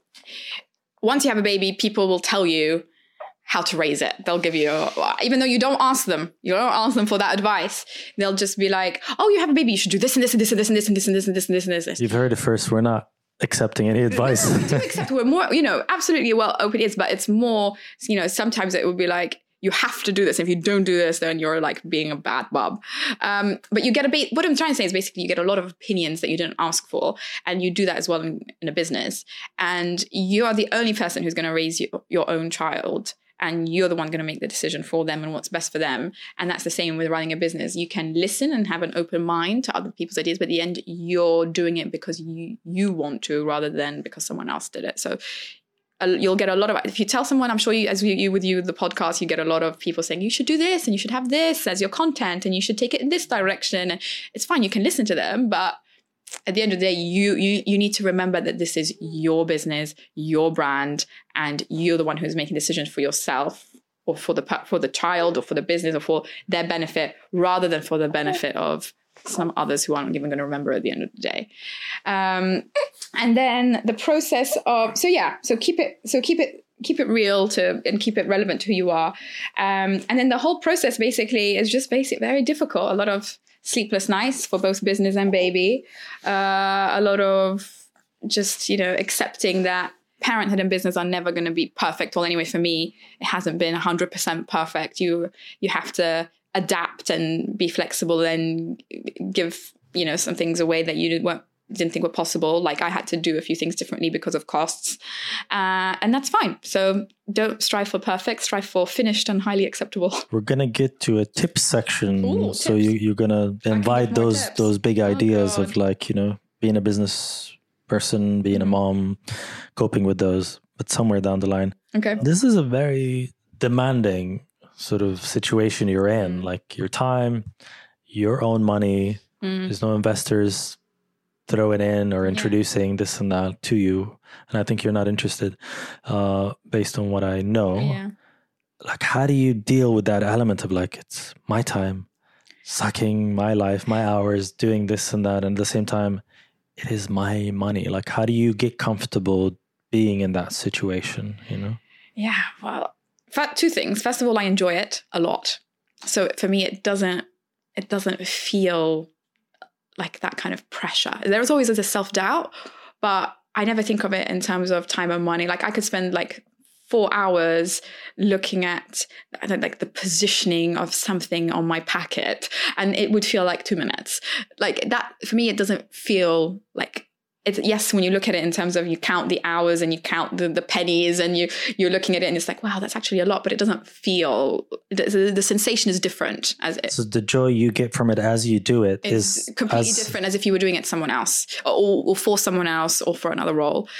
once you have a baby, people will tell you how to raise it. They'll give you, even though you don't ask them for that advice. They'll just be like, oh, you have a baby, you should do this and this and this and this and this and this and this and this and this and this. You've heard it first. We're not accepting any advice. We're more, absolutely well open ears, but it's more, sometimes it would be like, you have to do this. If you don't do this, then you're like being a bad bub. But you get what I'm trying to say is basically you get a lot of opinions that you didn't ask for. And you do that as well in a business. And you are the only person who's going to raise your own child. And you're the one going to make the decision for them and what's best for them. And that's the same with running a business. You can listen and have an open mind to other people's ideas, but at the end, you're doing it because you want to rather than because someone else did it. So you'll get a lot of, if you tell someone, I'm sure the podcast, you get a lot of people saying, you should do this and you should have this as your content and you should take it in this direction. And it's fine. You can listen to them, but at the end of the day, you need to remember that this is your business, your brand, and you're the one who's making decisions for yourself or for the child or for the business or for their benefit rather than for the benefit of some others who aren't even going to remember at the end of the day. And then the process of, so keep it real and keep it relevant to who you are. And then the whole process basically is just very difficult. A lot of sleepless nights for both business and baby. A lot of just, accepting that parenthood and business are never going to be perfect. Well, anyway, for me, it hasn't been 100% perfect. You have to adapt and be flexible and give, some things away that you didn't think were possible. Like I had to do a few things differently because of costs. And that's fine. So don't strive for perfect, strive for finished and highly acceptable. We're going to get to a tips section. Ooh, so tips. You're going to invite those big ideas of like, being a business person, being a mom, coping with those, but somewhere down the line. Okay. This is a very demanding sort of situation you're in, like your time, your own money. There's no investors throwing in or introducing this and that to you. And I think you're not interested based on what I know. Yeah. Like, how do you deal with that element of like, it's my time, sucking my life, my hours, doing this and that. And at the same time, it is my money. Like, how do you get comfortable being in that situation, Yeah, well, two things. First of all, I enjoy it a lot. So for me, it doesn't feel like that kind of pressure. There's always a self-doubt, but I never think of it in terms of time and money. Like I could spend like 4 hours looking at like the positioning of something on my packet and it would feel like 2 minutes. Like that, for me, it doesn't feel like it's, yes, when you look at it in terms of you count the hours and you count the pennies and you're looking at it and it's like, wow, that's actually a lot, but it doesn't feel, the sensation is different. So the joy you get from it as you do it is completely different as if you were doing it to someone else or for someone else or for another role.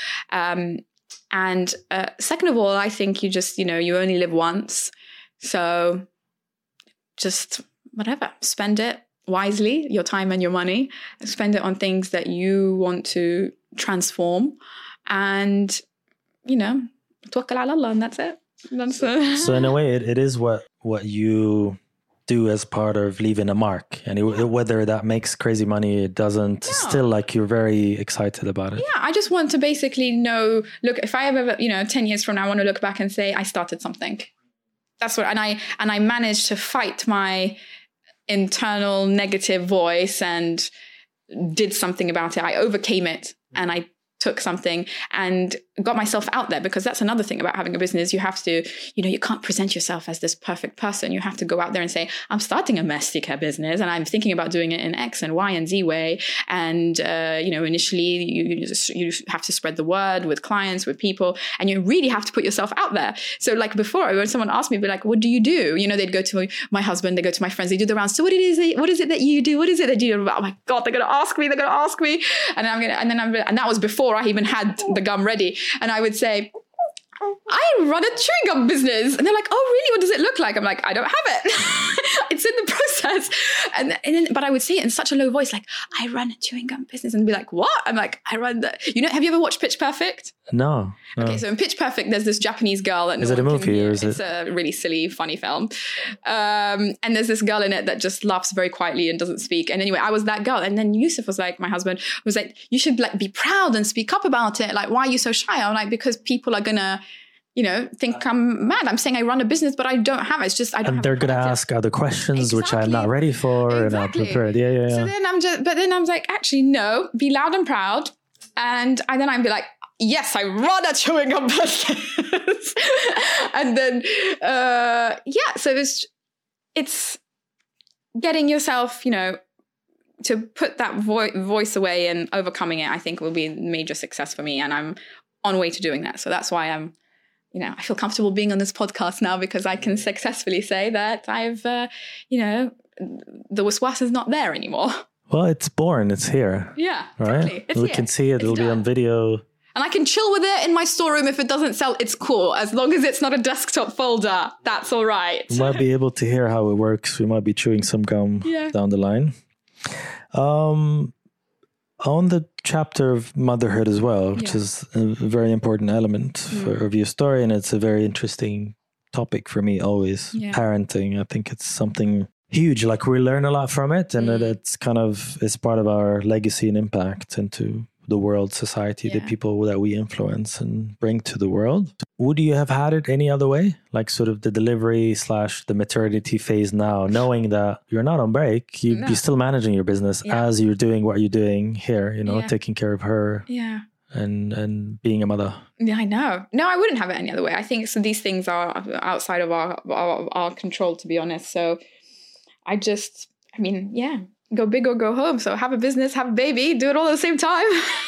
And second of all, I think you just, you only live once. So just whatever, spend it wisely, your time and your money. Spend it on things that you want to transform. And, tawakkal ala Allah, and that's it. So in a way, it is what you do as part of leaving a mark. And whether that makes crazy money, it doesn't, still like you're very excited about it. Yeah, I just want to basically know, look, if I ever, 10 years from now, I want to look back and say, I started something. That's what, and I managed to fight my internal negative voice and did something about it. I overcame it and I took something and got myself out there, because that's another thing about having a business. You have to, you can't present yourself as this perfect person. You have to go out there and say, I'm starting a Messy Care business and I'm thinking about doing it in X and Y and Z way. And, initially you have to spread the word with clients, with people, and you really have to put yourself out there. So like before, when someone asked me, be like, what do you do? They'd go to my husband, they go to my friends, they do the rounds. So what is it that you do? What is it that you do? Oh my God, they're going to ask me. And that was before I even had the gum ready. And I would say, I run a chewing gum business. And they're like, oh, really? What does it look like? I'm like, I don't have it. It's in the Yes. And then, but I would say it in such a low voice, like, I run a chewing gum business, and be like, what? I'm like, I run the, have you ever watched Pitch Perfect? No. Okay, so in Pitch Perfect, there's this Japanese girl. That is it a movie or is it? It's a really silly, funny film. And there's this girl in it that just laughs very quietly and doesn't speak. And anyway, I was that girl. And then Yusuf was like, my husband was like, you should like be proud and speak up about it. Like, why are you so shy? I'm like, because people are gonna, think I'm mad. I'm saying I run a business, but I don't have it. It's just I don't. And they're going to ask other questions, which I'm not ready for and not prepared. Yeah. So then I'm like, actually, no. Be loud and proud, and then I'd be like, yes, I run a chewing gum business. And then, so it's getting yourself, to put that voice away and overcoming it, I think will be a major success for me. And I'm on the way to doing that. So that's why I'm, I feel comfortable being on this podcast now, because I can successfully say that I've, the waswas is not there anymore. Well, it's born. It's here. Yeah, right. Exactly. We can see it. It'll be on video. And I can chill with it in my storeroom. If it doesn't sell, it's cool. As long as it's not a desktop folder, that's all right. We might be able to hear how it works. We might be chewing some gum down the line. On the chapter of motherhood as well, which is a very important element of your story. And it's a very interesting topic for me always. Yeah. Parenting. I think it's something huge. Like we learn a lot from it, and it's it's part of our legacy and impact into the world, society, the people that we influence and bring to the world. Would you have had it any other way? Like sort of the delivery / the maternity phase now, knowing that you're not on break, you're still managing your business as you're doing what you're doing here, taking care of her and being a mother. Yeah, I know. No, I wouldn't have it any other way. I think these things are outside of our control, to be honest. So go big or go home. So have a business, have a baby, do it all at the same time.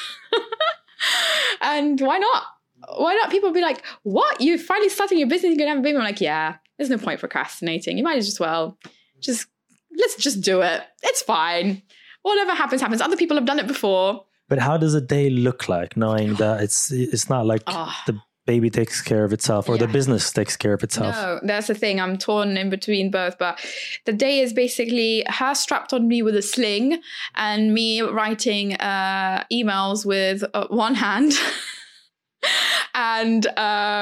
And why not? Why not? People be like, what? You're finally starting your business, you're going to have a baby? I'm like, yeah, there's no point procrastinating. You might as well let's just do it. It's fine. Whatever happens, happens. Other people have done it before. But how does a day look like, knowing that it's not like the baby takes care of itself or the business takes care of itself? No, that's the thing. I'm torn in between both. But the day is basically her strapped on me with a sling and me writing emails with one hand and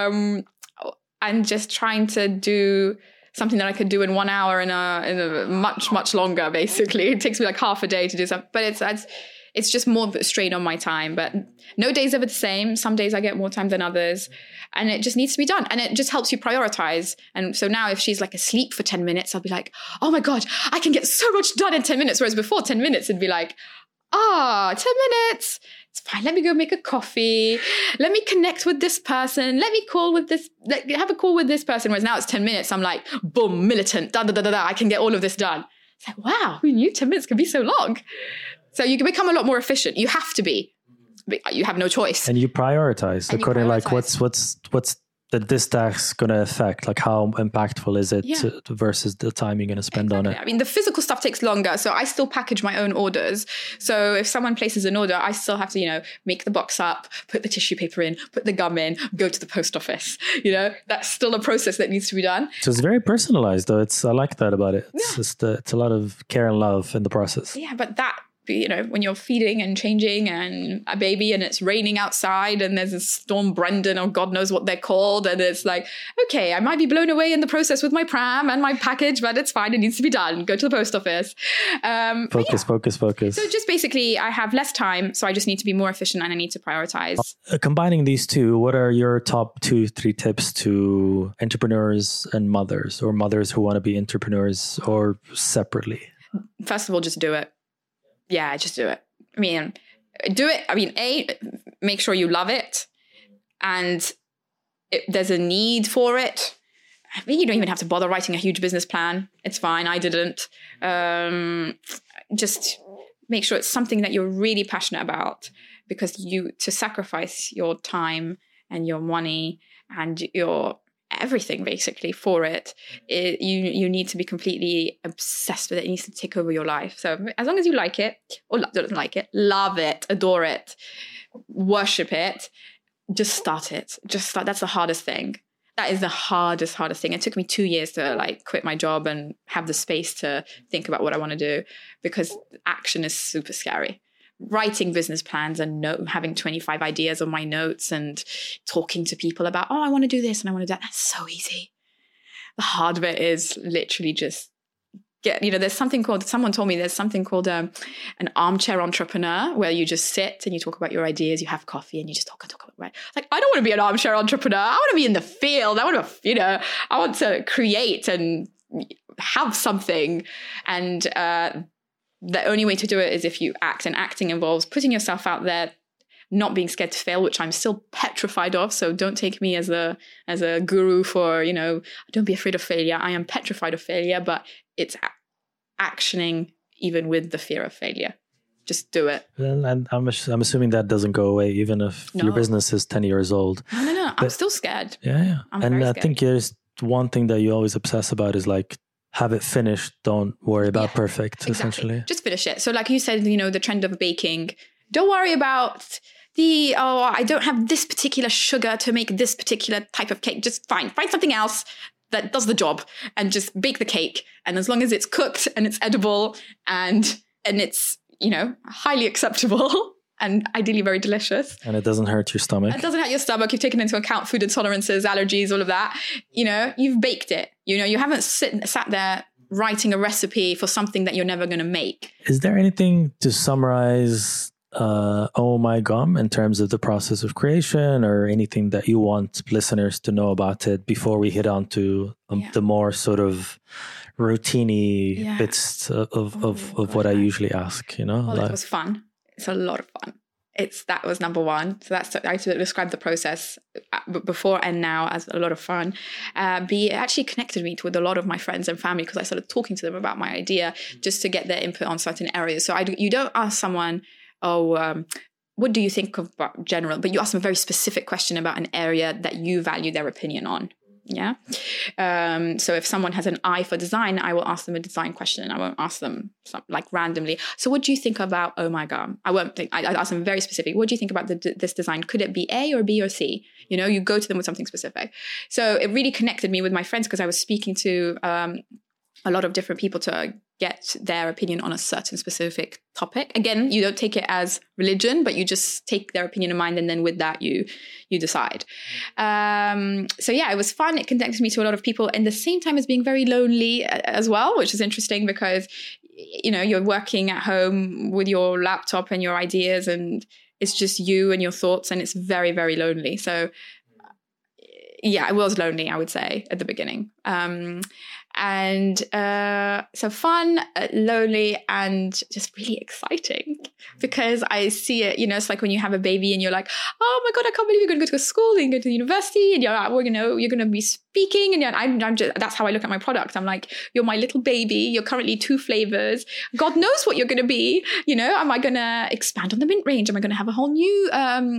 just trying to do something that I could do in 1 hour in a much, much longer, basically. It takes me like half a day to do something. But it's just more strain on my time, but no day's ever the same. Some days I get more time than others, and it just needs to be done. And it just helps you prioritize. And so now if she's like asleep for 10 minutes, I'll be like, oh my God, I can get so much done in 10 minutes. Whereas before 10 minutes, it'd be like, 10 minutes. It's fine. Let me go make a coffee. Let me connect with this person. Let me have a call with this person. Whereas now it's 10 minutes. I'm like, boom, militant, I can get all of this done. It's like, wow, who knew 10 minutes could be so long? So you can become a lot more efficient. You have to be. You have no choice. And you prioritize according to like what's this task going to affect? Like how impactful is it versus the time you're going to spend on it? I mean, the physical stuff takes longer. So I still package my own orders. So if someone places an order, I still have to, make the box up, put the tissue paper in, put the gum in, go to the post office. That's still a process that needs to be done. So it's very personalized though. I like that about it. It's a lot of care and love in the process. Yeah, but that, when you're feeding and changing and a baby and it's raining outside and there's a storm Brendan or God knows what they're called. And it's like, okay, I might be blown away in the process with my pram and my package, but it's fine. It needs to be done. Go to the post office. Focus. So just basically I have less time. So I just need to be more efficient and I need to prioritize. Combining these two, what are your top 2-3 tips to entrepreneurs and mothers or mothers who want to be entrepreneurs or separately? First of all, just do it. Yeah, just do it. Make sure you love it. And there's a need for it. You don't even have to bother writing a huge business plan. It's fine. I didn't. Just make sure it's something that you're really passionate about, because to sacrifice your time and your money and your everything basically for it, you need to be completely obsessed with it. It needs to take over your life. So as long as you like it or don't like it, love it, adore it, worship it, just start it. That's the hardest thing. That is the hardest thing. It took me 2 years to like quit my job and have the space to think about what I want to do, because action is super scary. Writing business plans and having 25 ideas on my notes and talking to people about, oh, I want to do this and I want to do that. That's so easy. The hard bit is literally just there's something called, someone told me there's something called an armchair entrepreneur, where you just sit and you talk about your ideas, you have coffee and you just talk about it. Like, I don't want to be an armchair entrepreneur. I want to be in the field. I want to create and have something. And the only way to do it is if you act, and acting involves putting yourself out there, not being scared to fail, which I'm still petrified of. So don't take me as a guru for, don't be afraid of failure. I am petrified of failure, but it's actioning even with the fear of failure. Just do it. And I'm assuming that doesn't go away even if your business is 10 years old. No. I'm still scared. Yeah. And I think there's one thing that you always obsess about is like, have it finished. Don't worry about perfect, essentially. Just finish it. So like you said, the trend of baking, don't worry about I don't have this particular sugar to make this particular type of cake. Just find something else that does the job and just bake the cake. And as long as it's cooked and it's edible and it's, highly acceptable and ideally very delicious. And it doesn't hurt your stomach. It doesn't hurt your stomach. You've taken into account food intolerances, allergies, all of that. You've baked it. You haven't sat there writing a recipe for something that you're never going to make. Is there anything to summarize Oh My Gum in terms of the process of creation, or anything that you want listeners to know about it before we hit on to the more sort of routine-y bits of what I usually ask, Well, it was fun. It's a lot of fun. That was number one. So I described the process before and now as a lot of fun. It actually connected me with a lot of my friends and family, because I started talking to them about my idea just to get their input on certain areas. So you don't ask someone, what do you think about general? But you ask them a very specific question about an area that you value their opinion on. Yeah. So if someone has an eye for design, I will ask them a design question. I won't ask them like randomly. So what do you think about Oh My Gum? I ask them very specific. What do you think about this design? Could it be A or B or C? You go to them with something specific. So it really connected me with my friends, because I was speaking to a lot of different people to get their opinion on a certain specific topic. Again, you don't take it as religion, but you just take their opinion in mind, and then with that you decide. So yeah, it was fun. It connected me to a lot of people, and the same time as being very lonely as well, which is interesting because you're working at home with your laptop and your ideas, and it's just you and your thoughts, and it's very, very lonely. So yeah, it was lonely, I would say, at the beginning. So fun, lonely, and just really exciting, because I see it, it's like when you have a baby and you're like, oh my God, I can't believe you're going to go to school and go to university, and you're going to be speaking. And I'm just, that's how I look at my product. I'm like, you're my little baby. You're currently 2 flavors. God knows what you're going to be. Am I going to expand on the mint range? Am I going to have a whole new,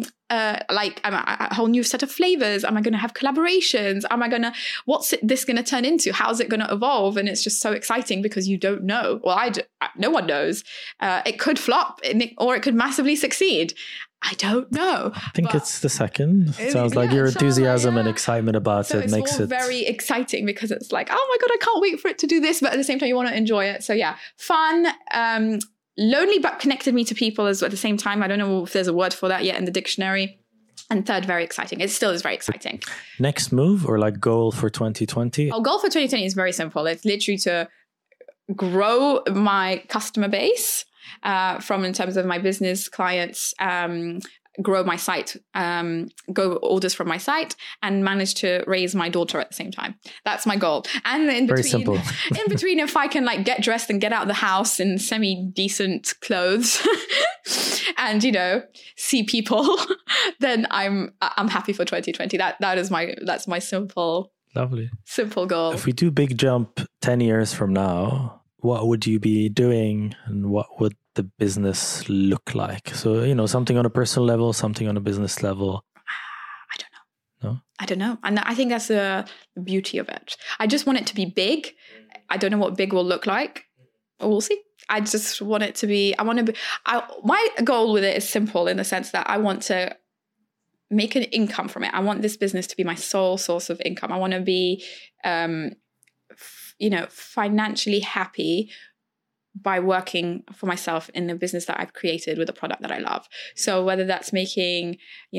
a whole new set of flavors? Am I going to have collaborations? What's this going to turn into? How's it going to evolve? And it's just so exciting because you don't know. Well, no one knows. It could flop or it could massively succeed. I don't know. I think it's the second. It sounds like your enthusiasm and excitement about it makes it very exciting, because it's like, oh my God, I can't wait for it to do this. But at the same time, you want to enjoy it. So yeah, fun, lonely, but connected me to people at the same time. I don't know if there's a word for that yet in the dictionary. And third, very exciting. It still is very exciting. Next move or like goal for 2020? Our goal for 2020 is very simple. It's literally to grow my customer base in terms of my business clients, grow my site, go orders from my site, and manage to raise my daughter at the same time. That's my goal. And in between, very simple. In between, if I can like get dressed and get out of the house in semi-decent clothes and see people, then I'm happy for 2020. That's my simple, lovely, simple goal. If we do big jump 10 years from now, what would you be doing, and what would the business look like? So, something on a personal level, something on a business level. I don't know. No? I don't know. And I think that's the beauty of it. I just want it to be big. I don't know what big will look like. We'll see. I just want it to be, my goal with it is simple, in the sense that I want to make an income from it. I want this business to be my sole source of income. I want to be, financially happy by working for myself in the business that I've created with a product that I love. So whether that's making,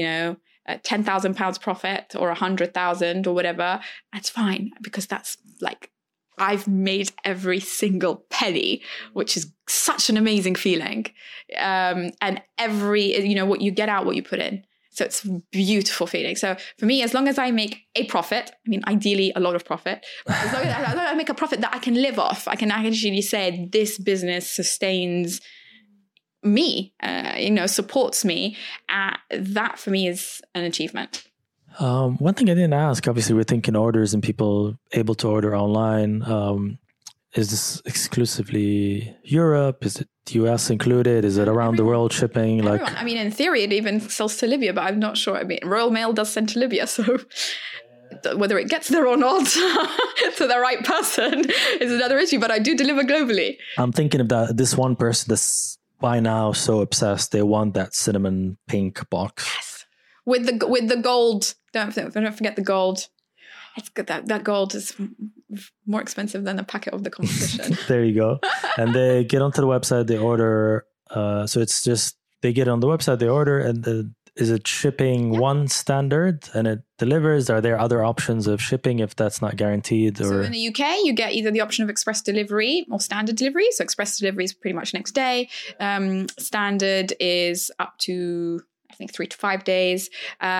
£10,000 profit or 100,000 or whatever, that's fine, because that's like, I've made every single penny, which is such an amazing feeling. And every, what you get out, what you put in. So it's a beautiful feeling. So for me, as long as I make a profit, I mean, ideally a lot of profit, but as long as I make a profit that I can live off, I can actually say this business sustains me, supports me. That for me is an achievement. One thing I didn't ask, obviously we're thinking orders and people able to order online. Is this exclusively Europe? Is it US included? Is it around the world shipping? Everyone. I mean, in theory, it even sells to Libya, but I'm not sure. I mean, Royal Mail does send to Libya, so whether it gets there or not to the right person is another issue, but I do deliver globally. I'm thinking of this one person that's by now so obsessed. They want that cinnamon pink box. Yes. With the gold. Don't forget the gold. It's good that gold is more expensive than a packet of the competition. There you go. And they get onto the website, they order. So it's just, they get on the website, they order, and is it shipping one standard and it delivers? Are there other options of shipping if that's not guaranteed? Or? So in the UK, you get either the option of express delivery or standard delivery. So express delivery is pretty much next day. Standard is up to, I think, 3 to 5 days.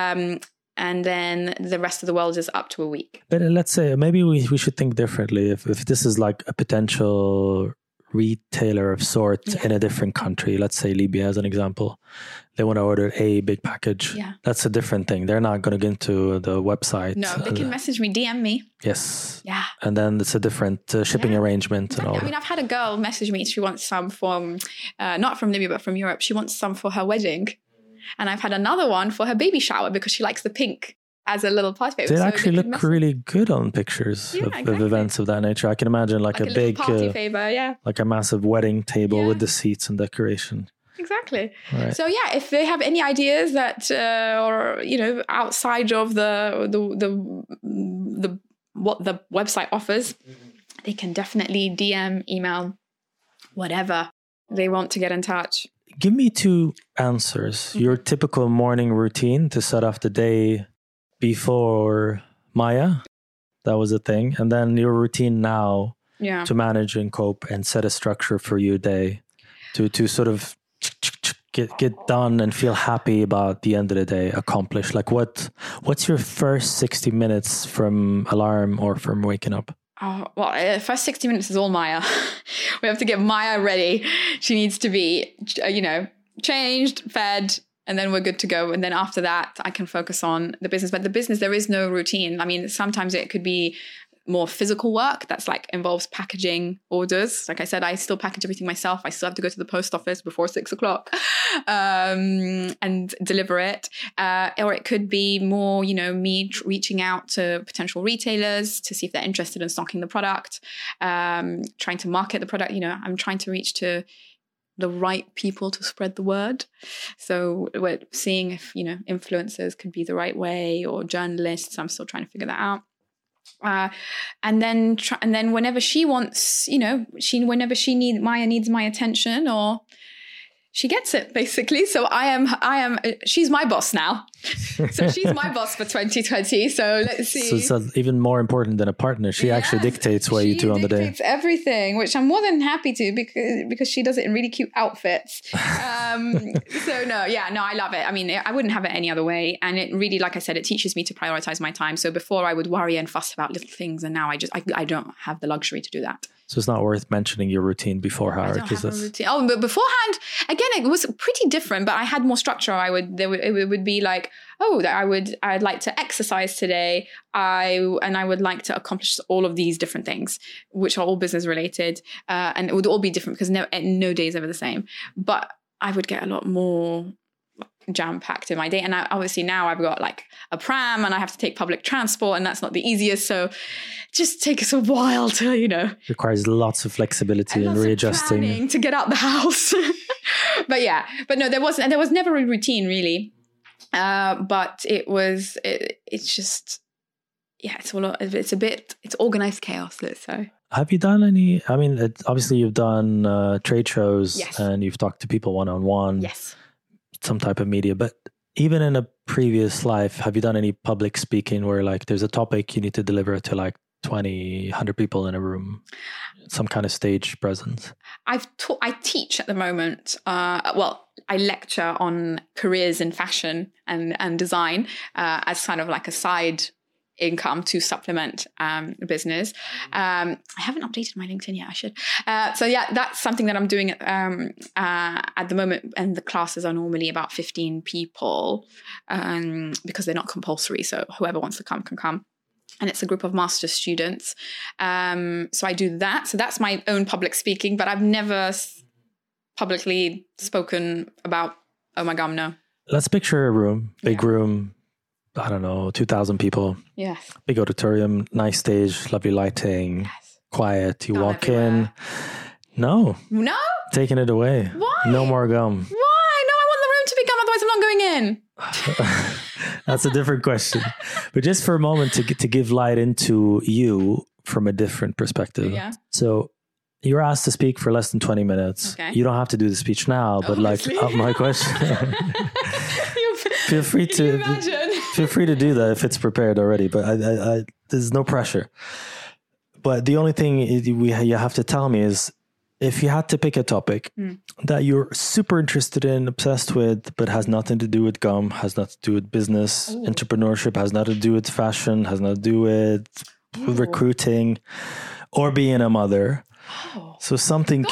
And then the rest of the world is up to a week. But let's say maybe we should think differently. If this is like a potential retailer of sorts in a different country, let's say Libya as an example, they want to order a big package. Yeah. That's a different thing. They're not going to get into the website. No, they can message me, DM me. Yes. Yeah. And then it's a different shipping arrangement. Exactly. And all. I mean, I've had a girl message me. She wants some from, not from Libya, but from Europe. She wants some for her wedding. And I've had another one for her baby shower because she likes the pink as a little party favor. They actually look really good on pictures of events of that nature. I can imagine like a big party favor, like a massive wedding table with the seats and decoration. Exactly. Right. So yeah, if they have any ideas that or outside of the what the website offers, they can definitely DM, email, whatever they want to get in touch. Give me 2 answers. Your typical morning routine to set off the day before Maya. That was a thing. And then your routine now to manage and cope and set a structure for your day to sort of get done and feel happy about the end of the day, accomplished. Like what's your first 60 minutes from alarm or from waking up? Oh, well, first 60 minutes is all Maya. We have to get Maya ready. She needs to be, changed, fed, and then we're good to go. And then after that, I can focus on the business. But the business, there is no routine. I mean, sometimes it could be more physical work that's like involves packaging orders. Like I said, I still package everything myself. I still have to go to the post office before 6:00 and deliver it. Or it could be more, me reaching out to potential retailers to see if they're interested in stocking the product, trying to market the product. I'm trying to reach to the right people to spread the word. So we're seeing if, influencers could be the right way or journalists. I'm still trying to figure that out. And then whenever she wants, Maya needs my attention or she gets it basically. So she's my boss now. So she's my boss for 2020. So let's see. So it's even more important than a partner. She actually dictates what you do on the day. She dictates everything, which I'm more than happy to because she does it in really cute outfits. I love it. I mean, I wouldn't have it any other way. And it really, like I said, it teaches me to prioritize my time. So before I would worry and fuss about little things. And now I don't have the luxury to do that. So it's not worth mentioning your routine beforehand. I don't have a routine. Oh, but beforehand, again, it was pretty different, but I had more structure. It would be like, I'd like to exercise today. I would like to accomplish all of these different things, which are all business related. And it would all be different because no day is ever the same. But I would get a lot more jam-packed in my day. And obviously now I've got like a pram and I have to take public transport and that's not the easiest. So it just takes a while to, requires lots of flexibility and readjusting to get out the house. But no, there was never a routine really. But it's just, yeah, it's organized chaos, let's say. Have you done any, I mean, obviously you've done trade shows. Yes. And you've talked to people one-on-one. Yes. Some type of media, but even in a previous life, have you done any public speaking where like there's a topic you need to deliver to like 20, 100 people in a room, some kind of stage presence? I teach at the moment. I lecture on careers in fashion and design as kind of like a side income to supplement business. I haven't updated my LinkedIn yet. I should. So yeah, that's something that I'm doing at the moment. And the classes are normally about 15 people because they're not compulsory. So whoever wants to come can come. And it's a group of master's students. So I do that. So that's my own public speaking, but I've never publicly spoken about Oh My Gum, no. Let's picture a room, big room, I don't know, 2,000 people. Yes. Big auditorium, nice stage, lovely lighting, quiet. You walk in. No. Taking it away. Why? No more gum. Why? No, I want the room to be gum, otherwise I'm not going in. That's a different question. But just for a moment to give light into you from a different perspective. Yeah. So you're asked to speak for less than 20 minutes. Okay. You don't have to do the speech now, but obviously. My question. Feel free to do that if it's prepared already, but I there's no pressure. But the only thing you have to tell me is if you had to pick a topic that you're super interested in, obsessed with, but has nothing to do with gum, has nothing to do with business, entrepreneurship, has nothing to do with fashion, has nothing to do with recruiting or being a mother. So something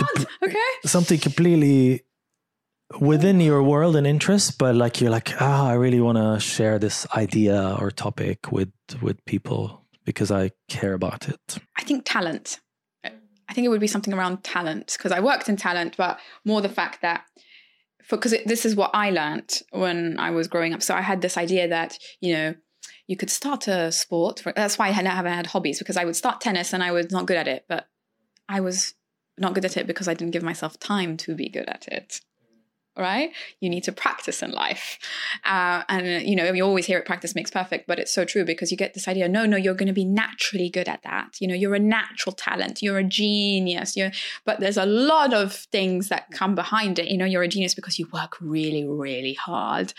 completely within your world and interest, but like you're like, I really want to share this idea or topic with people because I care about it. I think talent. I think it would be something around talent because I worked in talent, but more the fact that this is what I learned when I was growing up. So I had this idea that, you could start a sport. That's why I haven't had hobbies, because I would start tennis and I was not good at it, but I was not good at it because I didn't give myself time to be good at it. Right? You need to practice in life. And you always hear it, practice makes perfect, but it's so true because you get this idea, no, you're going to be naturally good at that. You're a natural talent. You're a genius. But there's a lot of things that come behind it. You're a genius because you work really, really hard.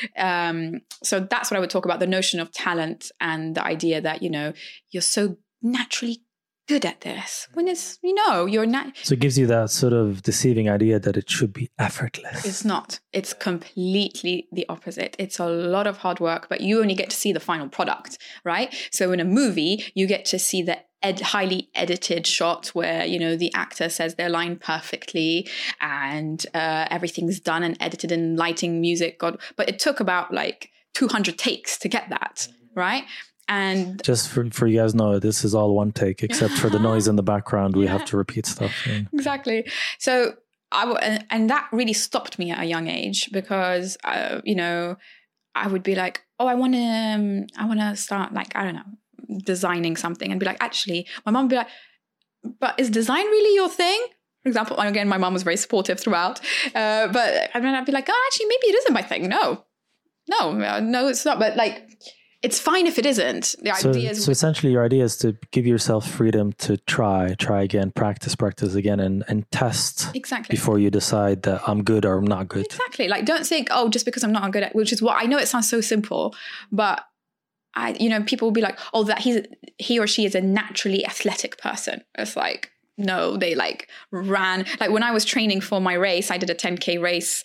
So that's what I would talk about, the notion of talent and the idea that, you're so naturally good at this when it's you're not. So it gives you that sort of deceiving idea that it should be effortless. It's not. It's completely the opposite. It's a lot of hard work, but you only get to see the final product, right? So in a movie you get to see the highly edited shot where the actor says their line perfectly and everything's done and edited in lighting, music, but it took about like 200 takes to get that, right? And just for you guys know, this is all one take, except for the noise in the background. We have to repeat stuff. Exactly. So and that really stopped me at a young age because, I would be like, I want to start like, I don't know, designing something and be like, actually, my mom would be like, but is design really your thing? For example, and again, my mom was very supportive throughout. But I'd be like, actually, maybe it isn't my thing. No, it's not. But like, it's fine if it isn't. So essentially your idea is to give yourself freedom to try again, practice again and test before you decide that I'm good or I'm not good. Exactly. Like don't think, just because I'm not good at, which is what I know it sounds so simple, but people will be like, that he or she is a naturally athletic person. It's like, no, they like ran. Like when I was training for my race, I did a 10K race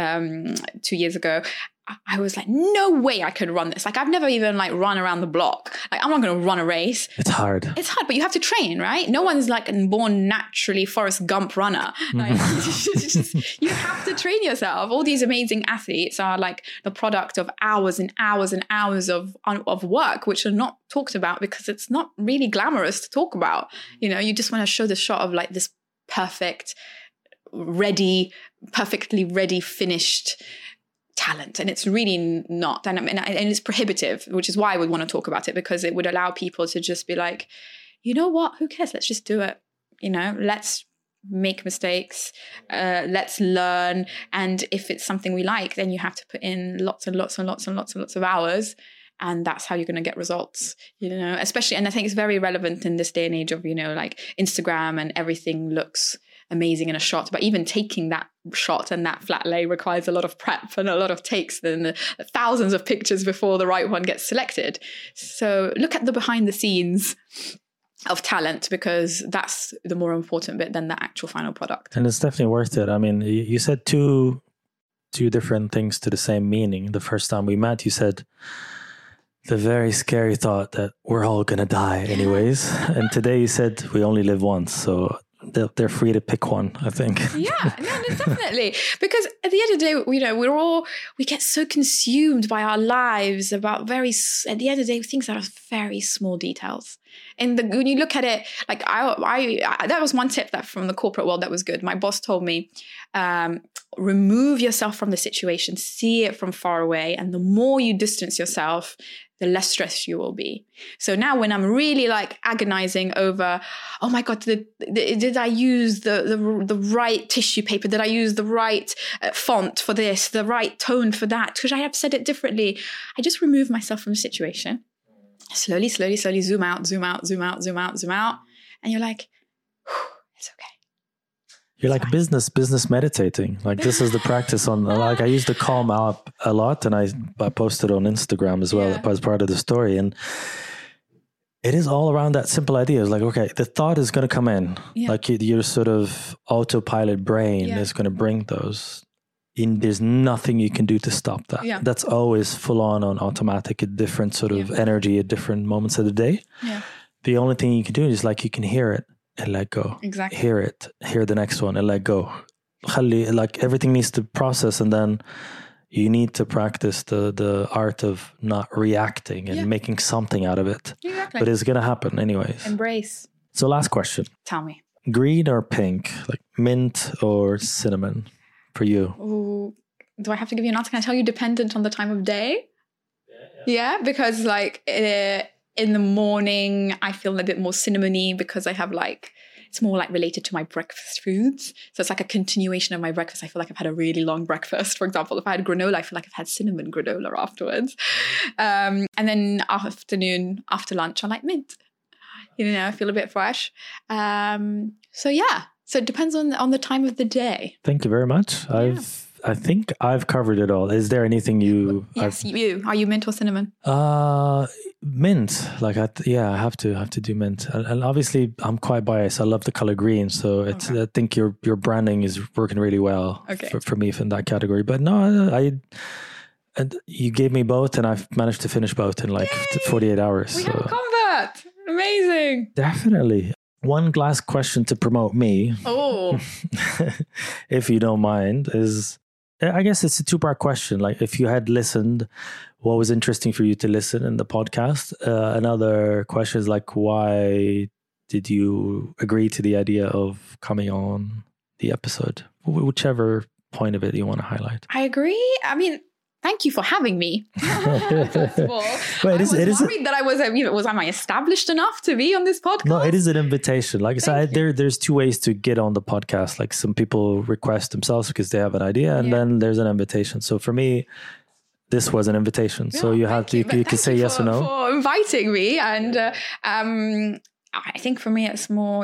2 years ago. I was like, no way I could run this. Like, I've never even like run around the block. Like, I'm not going to run a race. It's hard, but you have to train, right? No one's like a born naturally Forrest Gump runner. Like, you have to train yourself. All these amazing athletes are like the product of hours and hours and hours of work, which are not talked about because it's not really glamorous to talk about. You just want to show the shot of like this perfectly ready, finished talent, and it's really not, and it's prohibitive, which is why I would want to talk about it, because it would allow people to just be like, you know what, who cares, let's just do it, let's make mistakes, let's learn. And if it's something we like, then you have to put in lots and lots and lots and lots and lots of hours. And that's how you're going to get results, especially. And I think it's very relevant in this day and age of, like Instagram, and everything looks amazing in a shot. But even taking that shot and that flat lay requires a lot of prep and a lot of takes and thousands of pictures before the right one gets selected. So look at the behind the scenes of talent, because that's the more important bit than the actual final product. And it's definitely worth it. I mean, you said two different things to the same meaning. The first time we met, you said the very scary thought that we're all going to die anyways. And today you said we only live once. So they're free to pick one, I think. Yeah, no, definitely. Because at the end of the day, we get so consumed by our lives about at the end of the day, things that are very small details. And when you look at it, like I that was one tip that from the corporate world that was good. My boss told me, remove yourself from the situation, see it from far away. And the more you distance yourself, the less stressed you will be. So now when I'm really like agonizing over, oh my God, did I use the right tissue paper? Did I use the right font for this, the right tone for that? Because I have said it differently. I just remove myself from the situation. Slowly, slowly, slowly zoom out, zoom out, zoom out, zoom out, zoom out. And you're like, it's okay. You're like business meditating. Like this is the practice on, like I use the Calm app a lot, and I posted on Instagram as well as part of the story. And it is all around that simple idea. It's like, okay, the thought is going to come in. Yeah. Like your sort of autopilot brain is going to bring those. There's nothing you can do to stop that. Yeah. That's always full on automatic at different sort of energy at different moments of the day. Yeah. The only thing you can do is like you can hear it and let go. Exactly. Hear the next one and let go. Like everything needs to process, and then you need to practice the art of not reacting and making something out of it. Exactly. But it's going to happen anyways. Embrace. So last question. Tell me. Green or pink? Like mint or cinnamon for you? Ooh, do I have to give you an answer? Can I tell you dependent on the time of day? Yeah, because like in the morning, I feel a bit more cinnamony because I have it's more like related to my breakfast foods. So it's like a continuation of my breakfast. I feel like I've had a really long breakfast. For example, if I had granola, I feel like I've had cinnamon granola afterwards. And then afternoon, after lunch, I like mint. I feel a bit fresh. So yeah. So it depends on the time of the day. Thank you very much. Yeah. I think I've covered it all. Is there anything you? Yes, you. Are you mint or cinnamon? Mint. Like I have to do mint. And obviously, I'm quite biased. I love the color green, so it's. Okay. I think your branding is working really well for me in that category. But no, and you gave me both, and I've managed to finish both in 48 hours. We have a convert. Amazing. Definitely. One last question to promote me. Oh. If you don't mind, is I guess it's a two-part question. Like if you had listened, what was interesting for you to listen in the podcast? Another question is like, why did you agree to the idea of coming on the episode? Whichever point of it you want to highlight. I agree. I mean, thank you for having me. First of all, I was worried that I was, am I established enough to be on this podcast? No, it is an invitation. Like I said, there's two ways to get on the podcast. Like some people request themselves because they have an idea, and then there's an invitation. So for me, this was an invitation. So you have to, you can say yes or no. For inviting me. And I think for me, it's more,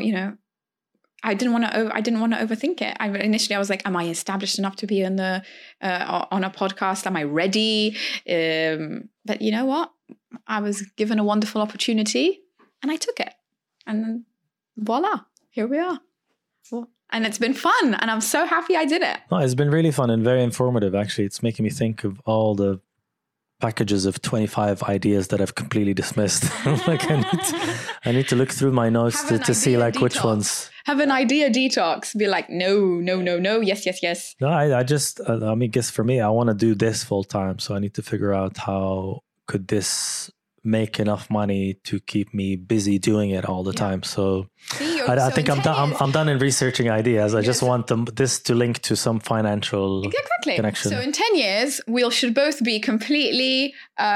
I didn't want to overthink it. Initially I was like, am I established enough to be on a podcast? Am I ready? But you know what? I was given a wonderful opportunity and I took it. And voila, here we are. And it's been fun. And I'm so happy I did it. Oh, it's been really fun and very informative. Actually, it's making me think of all the packages of 25 ideas that I've completely dismissed. Like I need to look through my notes to see like detox. Which ones. Have an idea detox. Be like, no, yes. No, I guess for me, I want to do this full time. So I need to figure out how could this make enough money to keep me busy doing it all the time. So I think I'm done in researching ideas. I just want this to link to some financial connection. So in 10 years, we should both be completely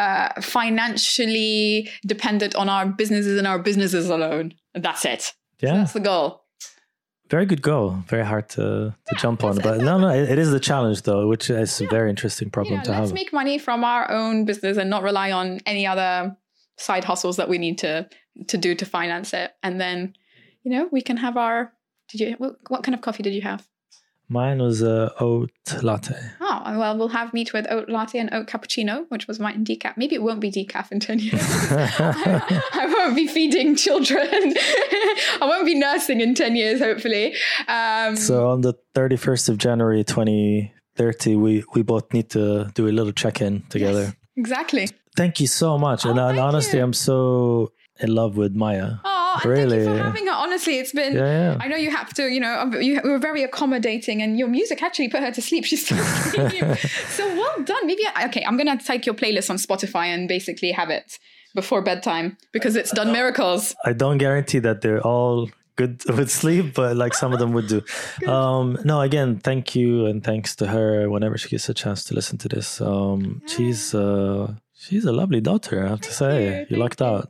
financially dependent on our businesses and our businesses alone. That's it. Yeah. So that's the goal. Very good goal. Very hard to jump on. But no, it is the challenge, though, which is a very interesting problem to have. Let's make money from our own business and not rely on any other side hustles that we need to do to finance it. And then, we can have our... What kind of coffee did you have? Mine was oat latte. Oh, well, we'll have meat with oat latte and oat cappuccino, which was mine decaf. Maybe it won't be decaf in 10 years. I won't be feeding children. I won't be nursing in 10 years, hopefully. So on the 31st of January 2030, we both need to do a little check-in together. Yes, exactly. Thank you so much. And honestly, I'm so in love with Maya. Oh, really? Thank you for having her. Honestly, it's been... Yeah. I know you have to, you were very accommodating, and your music actually put her to sleep. She's still asleep. So well done. Maybe... Okay, I'm going to take your playlist on Spotify and basically have it before bedtime because it's done miracles. I don't guarantee that they're all good with sleep, but like some of them would do. No, again, thank you, and thanks to her whenever she gets a chance to listen to this. She's a lovely daughter, I have to say. You lucked out.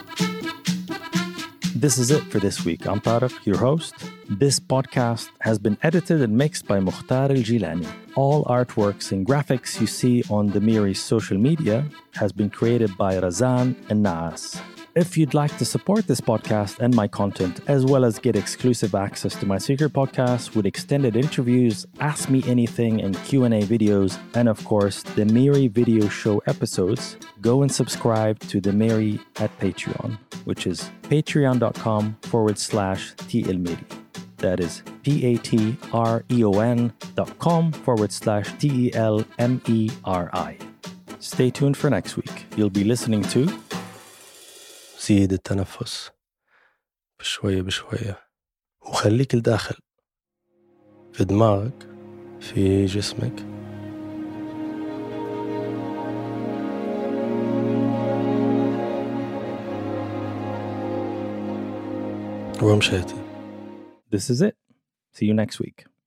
This is it for this week. I'm Tariq, your host. This podcast has been edited and mixed by Mukhtar Al-Jilani. All artworks and graphics you see on the Miri's social media has been created by Razan and Naas. If you'd like to support this podcast and my content, as well as get exclusive access to my secret podcast with extended interviews, Ask Me Anything and Q&A videos, and of course, the Miri video show episodes, go and subscribe to the Miri at Patreon, which is patreon.com/TLMiri. That is patreon.com/TELMERI. Stay tuned for next week. You'll be listening to زيد التنفس بشوية بشوية وخليك الداخل في دماغك في جسمك ومشيتي. This is it. See you next week.